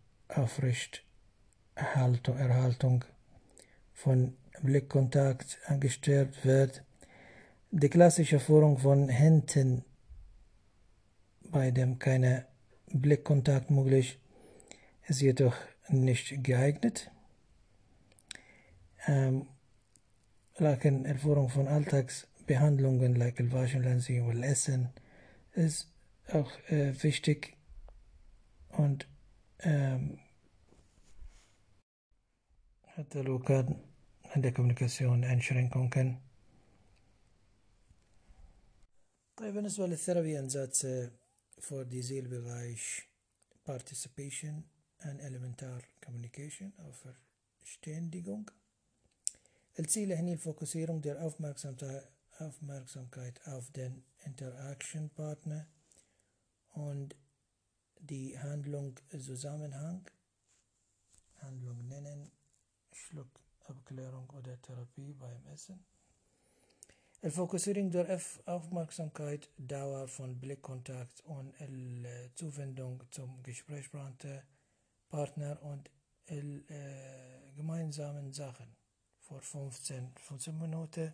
Aufrechterhaltung von Blickkontakt angestrebt wird, die klassische Führung von Händen, bei dem keine Blickkontakt möglich ist, jedoch nicht geeignet. Ähm, لكن الفورم von Alltagsbehandlungen like الwaschen lassen und Essen ist auch äh, wichtig und ähm, حتى لو كان عندك communication Einschränkungen. طيب بالنسبة للثيرابي أنزات for diese Bereich Participation and Elementar Communication أو Verständigung Ziele hier Fokussierung der Aufmerksamkeit, Aufmerksamkeit auf den Interaction-Partner und die Handlung Zusammenhang, Handlung nennen, Schluckabklärung oder Therapie beim Essen. الفوكسيرنج der Aufmerksamkeit, Dauer von Blickkontakt und Zuwendung zum Gesprächspartner und äh, gemeinsamen Sachen vor fünfzehn Minuten.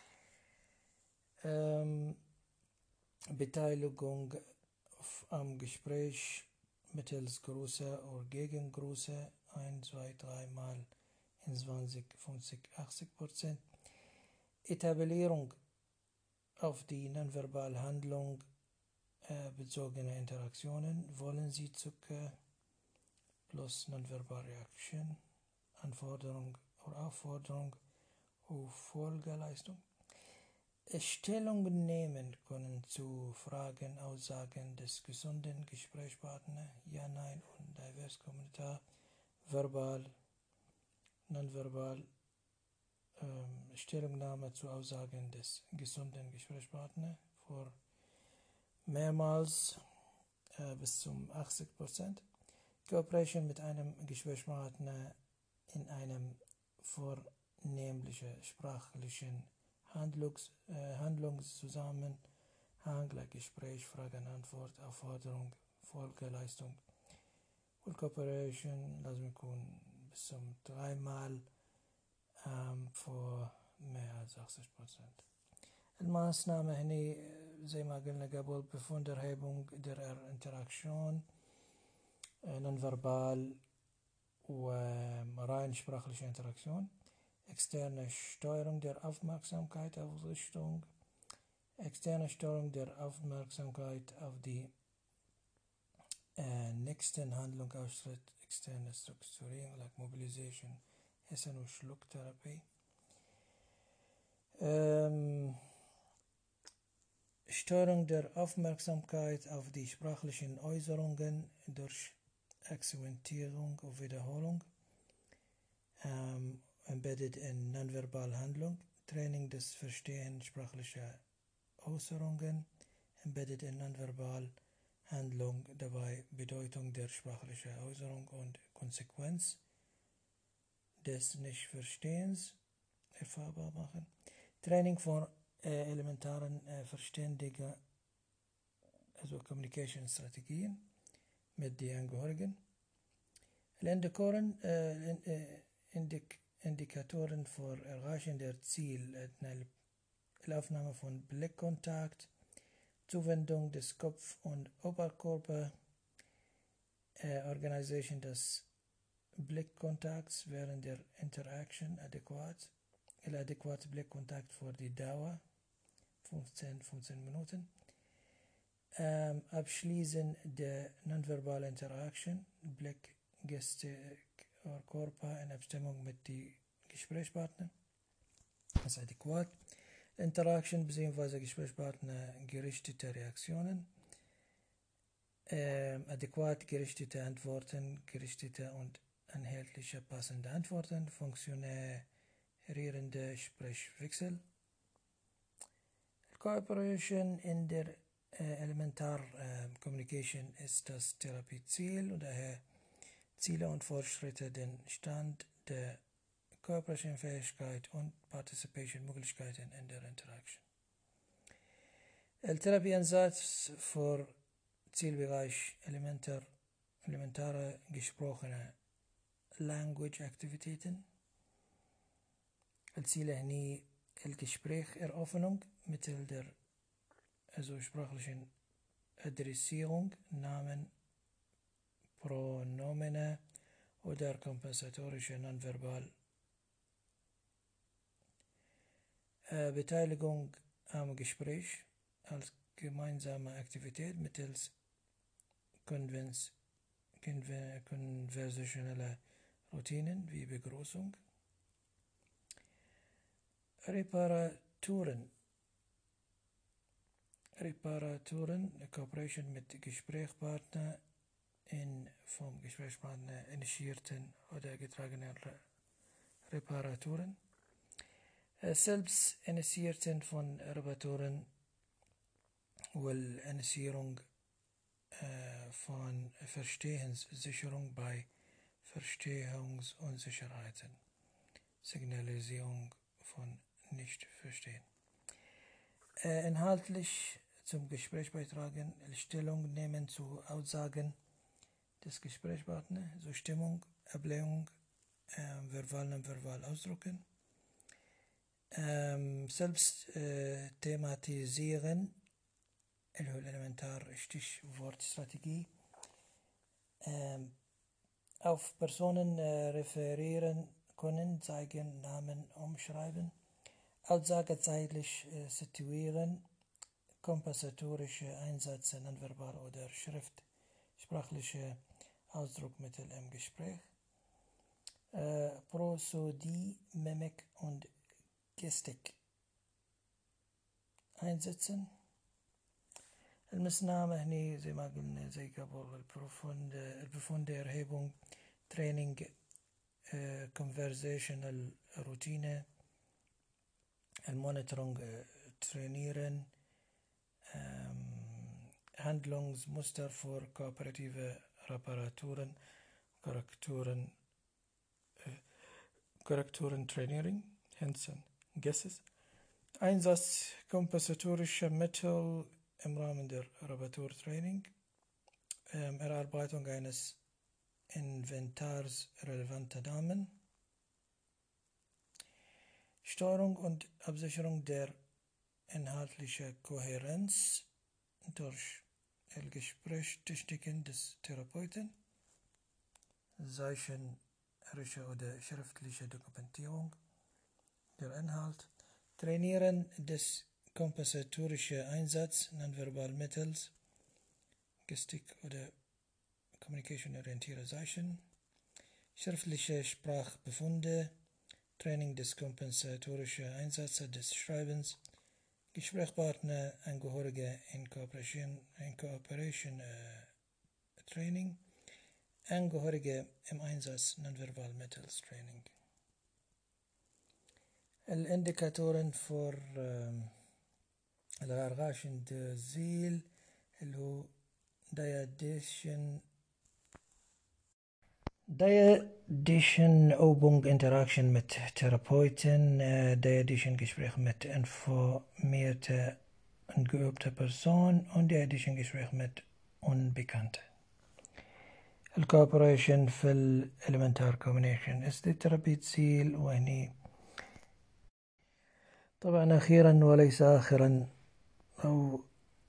Ähm, Beteiligung am Gespräch mittels Grüße oder Gegengrüße ein, zwei, drei Mal in zwanzig, fünfzig, achtzig Prozent. Etablierung auf die nonverbale Handlung äh, bezogene Interaktionen. Wollen Sie Zucker plus nonverbale Reaction, Anforderung oder Aufforderung auf Folgeleistung. Stellung nehmen können zu Fragen, Aussagen des gesunden Gesprächspartners, ja, nein und divers Kommentar, verbal, nonverbal, ähm, Stellungnahme zu Aussagen des gesunden Gesprächspartners vor mehrmals äh, bis zum achtzig Prozent. Cooperation mit einem Gesprächspartner in einem vornehmlichen sprachlichen Handlungs, äh, Handlungszusammenhang, like Gespräch, Fragen, Antwort, Aufforderung, Folgeleistung. Und Cooperation لازم يكون bis zum dreimal ähm, vor mehr als achtzig Prozent. الماßنahme هني زي ما قلنا قبل Befunderhebung der Interaktion nonverbal وrein sprachliche Interaktion, externe Steuerung der Aufmerksamkeit auf Richtung, externe Steuerung der Aufmerksamkeit auf die äh, nächsten Handlung ausschritt, externe Strukturierung, like Mobilisation, Essen- und Schlucktherapie. Ähm, Steuerung der Aufmerksamkeit auf die sprachlichen Äußerungen durch Akzentierung und Wiederholung, ähm, embedded in nonverbal Handlung, Training des Verstehens sprachlicher Äußerungen, embedded in nonverbal Handlung, dabei Bedeutung der sprachlichen Äußerung und Konsequenz des Nichtverstehens erfahrbar machen, Training von äh, elementaren äh, Verständiger, also Communication-Strategien mit den Angehörigen. Indikatoren, äh, Indik Indikatoren für Erreichen der Ziel, Aufnahme von Blickkontakt, Zuwendung des Kopf- und Oberkörper, äh, Organisation des Blickkontakts während der Interaction adäquat, adäquate Blickkontakt für die Dauer, fünfzehn, fünfzehn Minuten. Ähm, Abschließen der nonverbalen Interaction, Blick, Gestik oder Körper in Abstimmung mit den Gesprächspartnern. Das ist adäquat. Interaction bzw. Gesprächspartner gerichtete Reaktionen. Ähm, adäquat gerichtete Antworten, gerichtete und inhaltliche passende Antworten, funktionierende Sprechwechsel. Cooperation in der äh, Elementar äh, Communication ist das Therapieziel und daher Ziele und Fortschritte den Stand der Cooperation-Fähigkeit und Participation-Möglichkeiten in der Interaction. Der Therapieansatz für Zielbereich elementar, elementare gesprochene Language-Aktivitäten. Ziele هني الgespräch Eröffnung mittels der also sprachlichen Adressierung, Namen, Pronomene oder kompensatorische Nonverbal. Äh, Beteiligung am Gespräch als gemeinsame Aktivität mittels Konvens konversationeller Routinen wie Begrüßung. Reparaturen. Reparaturen, Cooperation mit Gesprächspartner in vom Gesprächspartner initiierten oder getragenen Re Reparaturen. Selbstinitiierten von Repertoren والinitiierung äh, von Verstehenssicherung bei Verstehungsunsicherheiten, Signalisierung von Nichtverstehen. Äh, inhaltlich zum Gespräch beitragen, Stellung nehmen zu Aussagen des Gesprächspartners, Zustimmung, Ablehnung, äh, verbal und verbal ausdrücken, ähm, selbst äh, thematisieren, elementar Stichwortstrategie, ähm, auf Personen äh, referieren können, zeigen, Namen umschreiben, Aussage zeitlich äh, situieren, kompensatorische Einsätze, nonverbal oder Schrift, sprachliche Ausdruckmittel im Gespräch, äh, Prosodie, Mimik und Gestik einsetzen. المسنامة هني زي ما قلنا زي قبل البروفوند البروفوند إرهابون تريننج conversational روتينة المونيتورنج ترينيرن Handlungsmuster für kooperative Reparaturen, Korrekturen, äh, Korrekturentrainierung, Hansen, Guesses, Einsatz kompensatorischer Mittel im Rahmen der Reparaturtraining, ähm, Erarbeitung eines Inventars relevanter Daten, Steuerung und Absicherung der inhaltlichen Kohärenz durch Gesprächstechniken des Therapeuten, zeichnerische oder schriftliche Dokumentierung der Inhalt, Trainieren des kompensatorischen Einsatz Nonverbalmittels, Gestik oder Communication-orientierte Zeichen, schriftliche Sprachbefunde, Training des kompensatorischen Einsatzes des Schreibens, Gesprächspartner, Angehörige in Cooperation, in Cooperation äh, Training, Angehörige im Einsatz Nonverbalmittels Training. الإنديكاتورين فور الغرغاشن دزيل اللي هو دايديشن دايديشن أوبونج انتراكشن مت ثيرابويتن دايديشن Gespräch mit informierte und geübte Person und دايديشن Gespräch mit Unbekannte. الكوبريشن في الإلمنتار كومبينيشن استثرابي تزيل وهني طبعا أخيرا وليس آخرا أو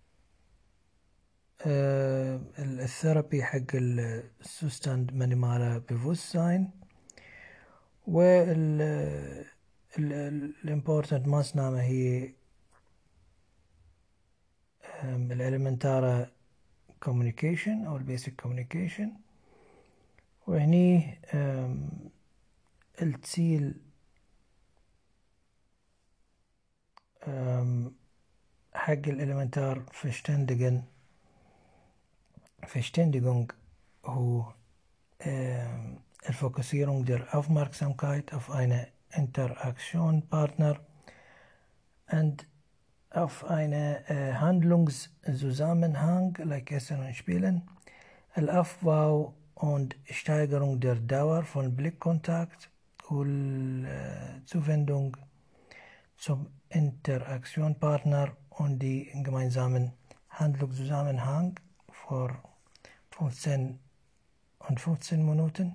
آه الثيرابي حق السوستاند مانيمالا بيفوساين وال الامبورتنت ماسنامة هي الاليمنتارا كوميونيكيشن أو البيسك كوميونيكيشن وهني التسيل حق الإلمنتار Verständigen Verständigung هو الfokussierung der Aufmerksamkeit auf eine Interaktionspartner und auf eine äh, Handlungszusammenhang, like Essen und Spielen, Aufbau und Steigerung der Dauer von Blickkontakt und äh, Zuwendung zum Interaktionspartner und die gemeinsamen Handlungszusammenhang vor fünfzehn und fünfzehn Minuten.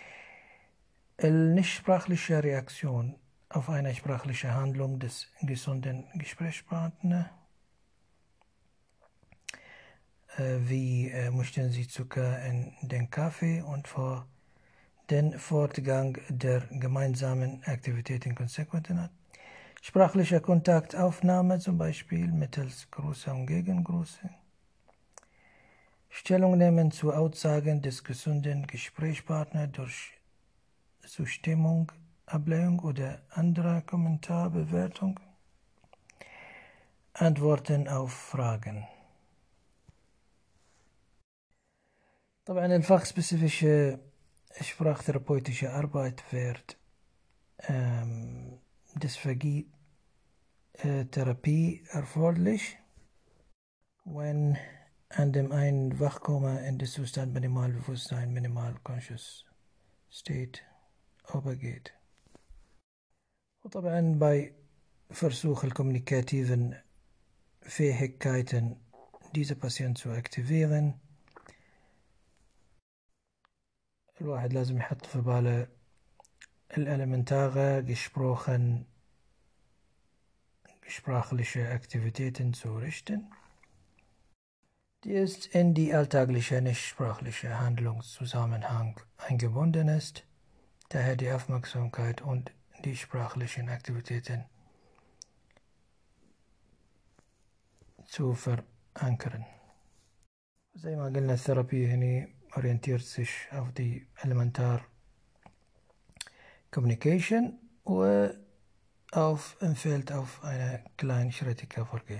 Die sprachliche Reaktion auf eine sprachliche Handlung des gesunden Gesprächspartners, äh, wie äh, möchten Sie Zucker in den Kaffee und vor den Fortgang der gemeinsamen Aktivitäten Konsequenzen hat. Sprachliche Kontaktaufnahme, zum Beispiel mittels Grüße und Gegengrüße. Stellung nehmen zu Aussagen des gesunden Gesprächspartners durch Zustimmung, Ablehnung oder andere Kommentarbewertung. Antworten auf Fragen. طبعا الفachspezifische sprachtherapeutische Arbeit wird ähm, Dysphagie-Therapie erforderlich, wenn an dem ein Wachkoma in den Zustand Minimalbewusstsein, Minimal Conscious State übergeht. وطبعا bei Versuch kommunikativen Fähigkeiten diese Patienten zu aktivieren الواحد لازم يحط في باله الإلمنتare gesprochen sprachliche Aktivitäten zu richten, die ist in die alltägliche nicht-sprachliche Handlungszusammenhang eingebunden ist, daher die Aufmerksamkeit und die sprachlichen Aktivitäten zu verankern. زي ما قلنا الثيرابي هنا orientiert sich auf die Elementar Communication و auf empfiehlt auf eine kleinschrittige Vorgehen.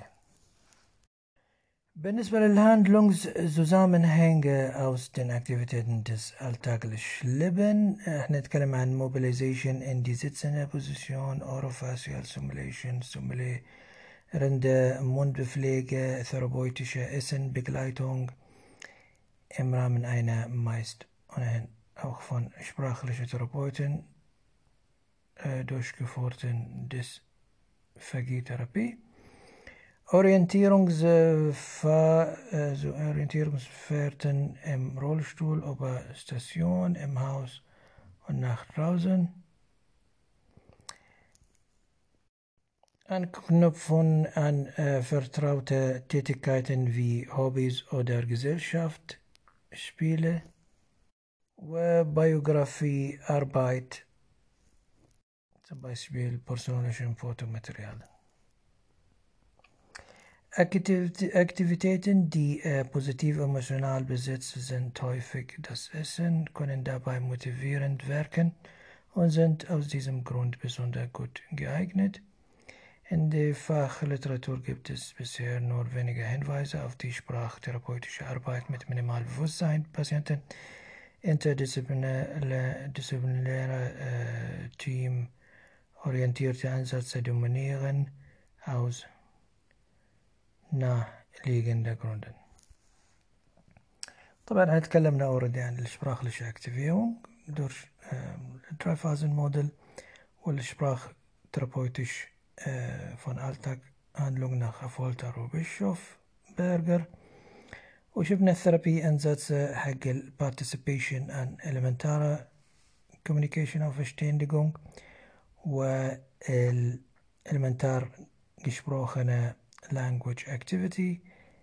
بالنسبة للhandlungszusammenhänge aus den Aktivitäten des alltäglichen Lebens, احنا نتكلم عن mobilization in die sitzende Position, orofacial stimulation, stimulierende Mundbepflege, therapeutische Essenbegleitung im Rahmen einer meist ohnehin auch von sprachlichen Therapeuten äh, durchgeführten Dysphagie-Therapie. Orientierungs also Orientierungsfahrten im Rollstuhl über Station, im Haus und nach draußen. Anknüpfen an äh, vertraute Tätigkeiten wie Hobbys oder Gesellschaft, Spiele, Biografie, Arbeit, zum Beispiel persönlichen Fotomaterial. Aktivitäten, die äh, positiv emotional besetzt sind, häufig das Essen, können dabei motivierend wirken und sind aus diesem Grund besonders gut geeignet. In der Fachliteratur gibt es bisher nur wenige Hinweise auf die sprachtherapeutische Arbeit mit Minimalbewusstsein. Patienten interdisziplinäre disziplinäre, äh, teamorientierte Ansätze dominieren aus naheliegender Gründen. طبعا احنا تكلمنا اوريدي عن السprachliche Aktivierung durch Drei-Phasen-Modell والsprachtherapeutisch von Alltaghandlung nach Affolter وبيشوف Berger وشفنا الثيرابي أنsätze حق ال Participation an elementarer Communication auf Verständigung وال elementar gesprochene language activity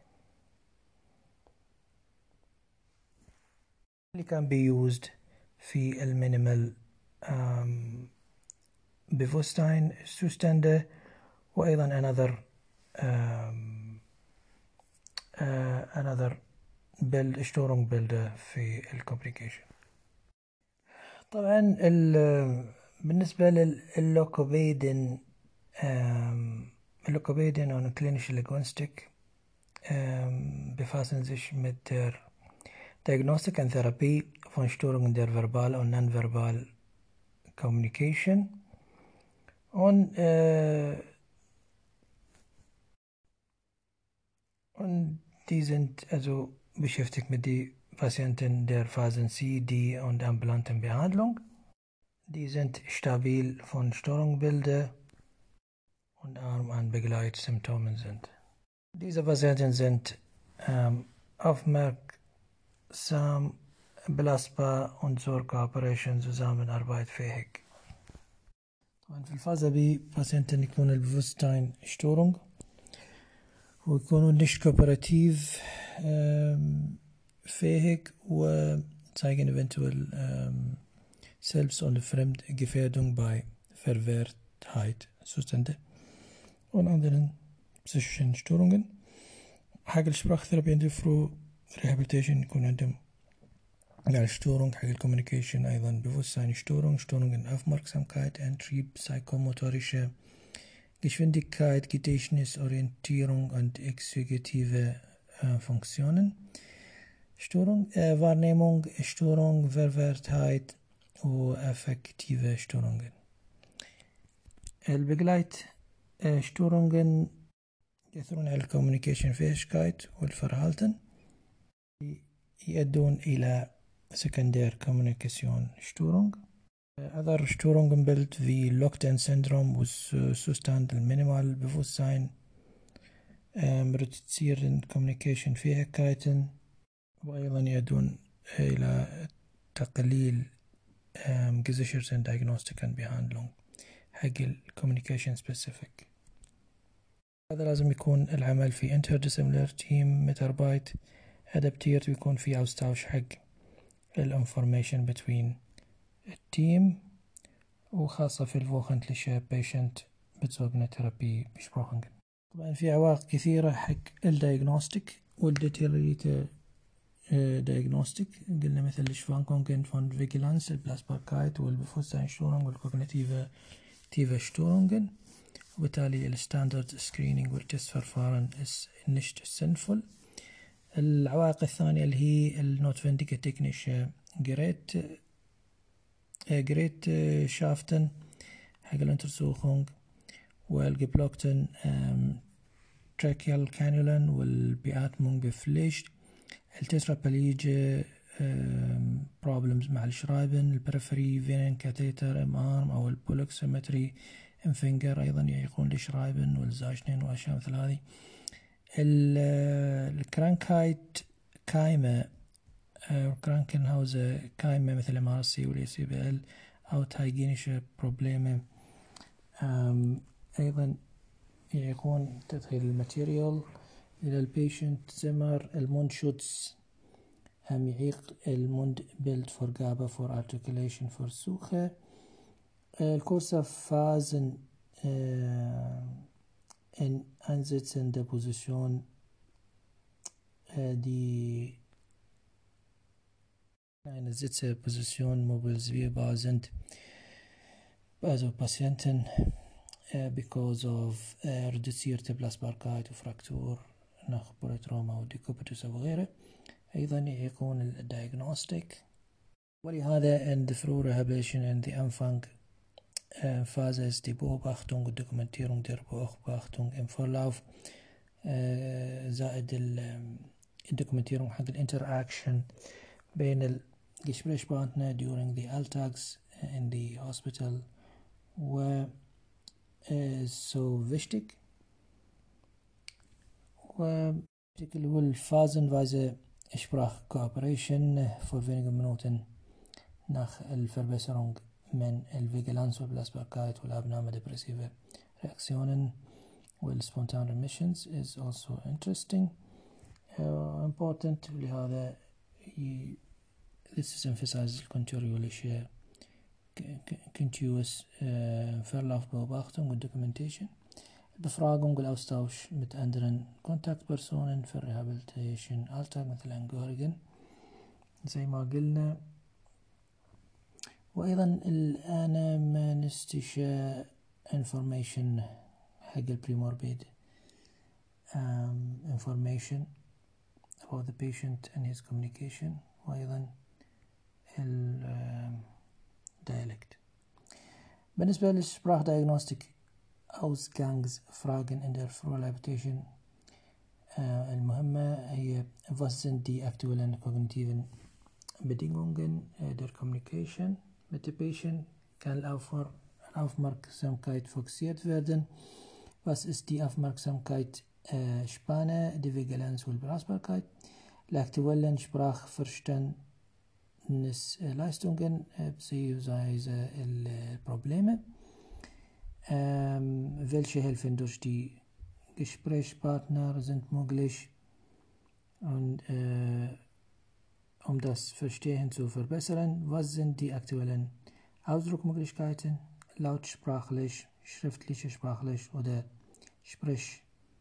اللي can be used في المينيمال um, Bewusstsein Zustände وأيضا another um, uh, another build Störung Bilder في الكوميونيكيشن. طبعا بالنسبة لللوكوبيدين Lokopädien und klinische Linguistik ähm, befassen sich mit der Diagnostik und Therapie von Störungen der Verbal- und Nonverbal Communication und, äh, und die sind also beschäftigt mit den Patienten der Phasen C, D und ambulanten Behandlung. Die sind stabil von Störungsbildern und arm an Begleitsymptomen sind. Diese Patienten sind ähm, aufmerksam, belastbar und zur Kooperation Zusammenarbeit fähig. في الفازة B Patienten يكون البewusstsein Störung ويكونوا nicht kooperativ ähm, fähig وzeigen eventuell ähm, Selbst- und Fremdgefährdung bei Verwehrtheit Zustände und anderen psychischen Störungen. حق السprachtherapie عند فرو rehabilitation يكون عندهم يعني Störung حق الcommunication أيضا Bewusstseinsstörung, Störungen Aufmerksamkeit, Antrieb, psychomotorische Geschwindigkeit, Gedächtnis, Orientierung und exekutive äh, Funktionen, Störung, äh, Wahrnehmung, Störung, Verwehrtheit und affektive Störungen. البيجلايت شتورونغن يأثرون على الكوميونيكيشن فيشكايت والفرهالتن يؤدون إلى سكندير كوميونيكيشن شتورونغ. Other Störungen built wie Locked-in Syndrom was Zustand المينيمال Bewusstsein reduzieren Kommunikationsfähigkeiten وأيضا يؤدون إلى تقليل gesicherten Diagnostiken Behandlung حق ال Communication Specific. هذا لازم يكون العمل في Interdisciplinary Team متربايت أدابتيرت ويكون في أوستاوش حق ال Information between التيم وخاصة في الفوخنتليشة بيشنت بتسوقنا ترابي بشبروخنجن. طبعا في عوائق كثيرة حق الدايجنوستيك والديتيريتا دايجنوستيك. قلنا مثل الشفانكونجن فون فيجيلانس البلاسباركايت والبفوستاين شتورونج والكوغنيتيفا تيفا شتورونجن. وبالتالي الستاندرد سكرينينج والتست فرفارن نشت سنفول. العوائق الثانية اللي هي النوت فينديكا تكنيش جريت جريت شافتن حق الانترسوخونج والجبلوكتن تراكيال كانولن والبياتمونج بفليشت التترابليج بروبلمز مع الشرايبن البريفري فينين كاتيتر ام ارم او البولوكسيمتري ام فينجر ايضا يعيقون الشرايبن والزاجنين واشياء مثل هذه. الكرانكايت كايمة كرانكنهاوزر كايمة مثل ام ار سي والاي سي بي ال او تايجينيشة بروبليمة ايضا يعيقون تدخيل الماتيريال الى البيشنت. زمر الموند شوتس هم يعيق الموند بيلد فور جابا فور ارتكوليشن فور سوخة. الكورسة فازن ان انزيتسن ديبوزيشن دي eine Sitzposition mobilisierbar sind also Patienten uh, because of uh, reduzierte Belastbarkeit وفراكتور nach Polytrauma وديكوبيتوس وغيره. أيضا يكون الدياغنوستيك. ولهذا in the Früh Rehabilitation in the Anfang uh, Phase ist die Beobachtung und Dokumentierung der Beobachtung im Verlauf uh, زائد الدوكومنتيرung حق الانتراكشن بين الجسبريشبانتنا during the Alltags in the hospital و so wichtig. و اللي هو الفازنweise Sprachkooperation vor wenigen Minuten nach Verbesserung من الفيجيلانس والبلاسباركايت والأبنامة depressive Reaktionen وال spontaneous remissions is also interesting uh, important. لهذا this is emphasizes continuous continuous Verlaufbeobachtung und Documentation. Befragung und Austausch mit anderen Kontaktpersonen für Rehabilitation Alltag مثل Angehörigen زي ما قلنا. وأيضا الآن ما نستشى information حق البريموربيد um, information about the patient and his communication وأيضا ال dialect. بالنسبة للسبراخ diagnostic Ausgangsfragen in der Frührehabilitation المهمة هي was sind die aktuellen kognitiven Bedingungen der Communication mit dem Patient? Kann Aufmerksamkeit fokussiert werden? Was ist die Aufmerksamkeitsspanne, die Vigilanz und Belastbarkeit? Die aktuellen Sprachverständnisleistungen bzw. Probleme. Ähm, welche helfen durch die Gesprächspartner sind möglich und äh, um das Verstehen zu verbessern? Was sind die aktuellen Ausdruckmöglichkeiten, lautsprachlich, schriftlich, sprachlich oder Sprech,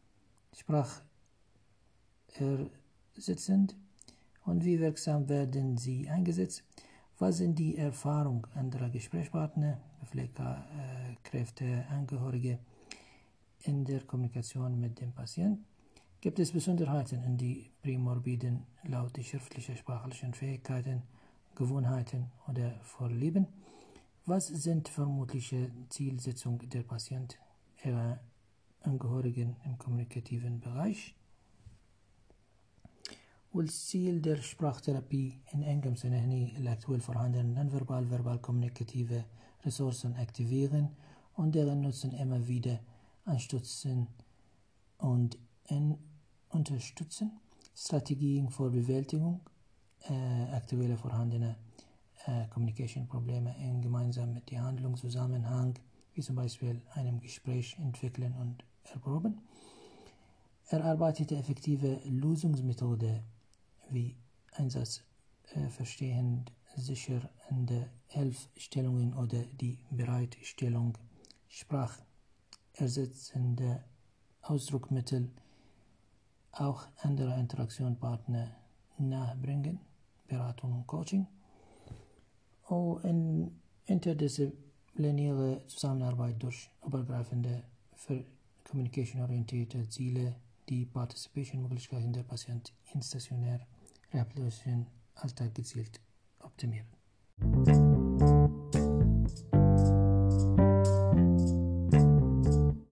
sprachersetzend? Und wie wirksam werden sie eingesetzt? Was sind die Erfahrungen anderer Gesprächspartner, Pflegekräfte, Angehörige in der Kommunikation mit dem Patienten? Gibt es Besonderheiten in die Prämorbiden laut die schriftlichen sprachlichen Fähigkeiten, Gewohnheiten oder Vorlieben? Was sind vermutliche Zielsetzungen der Patienten, ihrer Angehörigen im kommunikativen Bereich? والziel der Sprachtherapie in engem Sinne die aktuell vorhandenen nonverbal-verbal-kommunikative Ressourcen aktivieren und deren Nutzen immer wieder anstützen und in unterstützen. Strategien zur Bewältigung äh, aktueller vorhandener äh, Communication-Probleme in gemeinsam mit der Handlungszusammenhang, wie zum Beispiel einem Gespräch entwickeln und erproben. Erarbeitete effektive Lösungsmethode wie Einsatz äh, verstehend sichernde Hilfestellungen oder die Bereitstellung sprachersetzender Ausdruckmittel auch andere Interaktionspartner nahebringen, Beratung und Coaching. Und in interdisziplinäre Zusammenarbeit durch übergreifende für Communication-orientierte Ziele, die Participation-Möglichkeiten der Patienten in stationär Rehabilitation Alltag gezielt optimieren.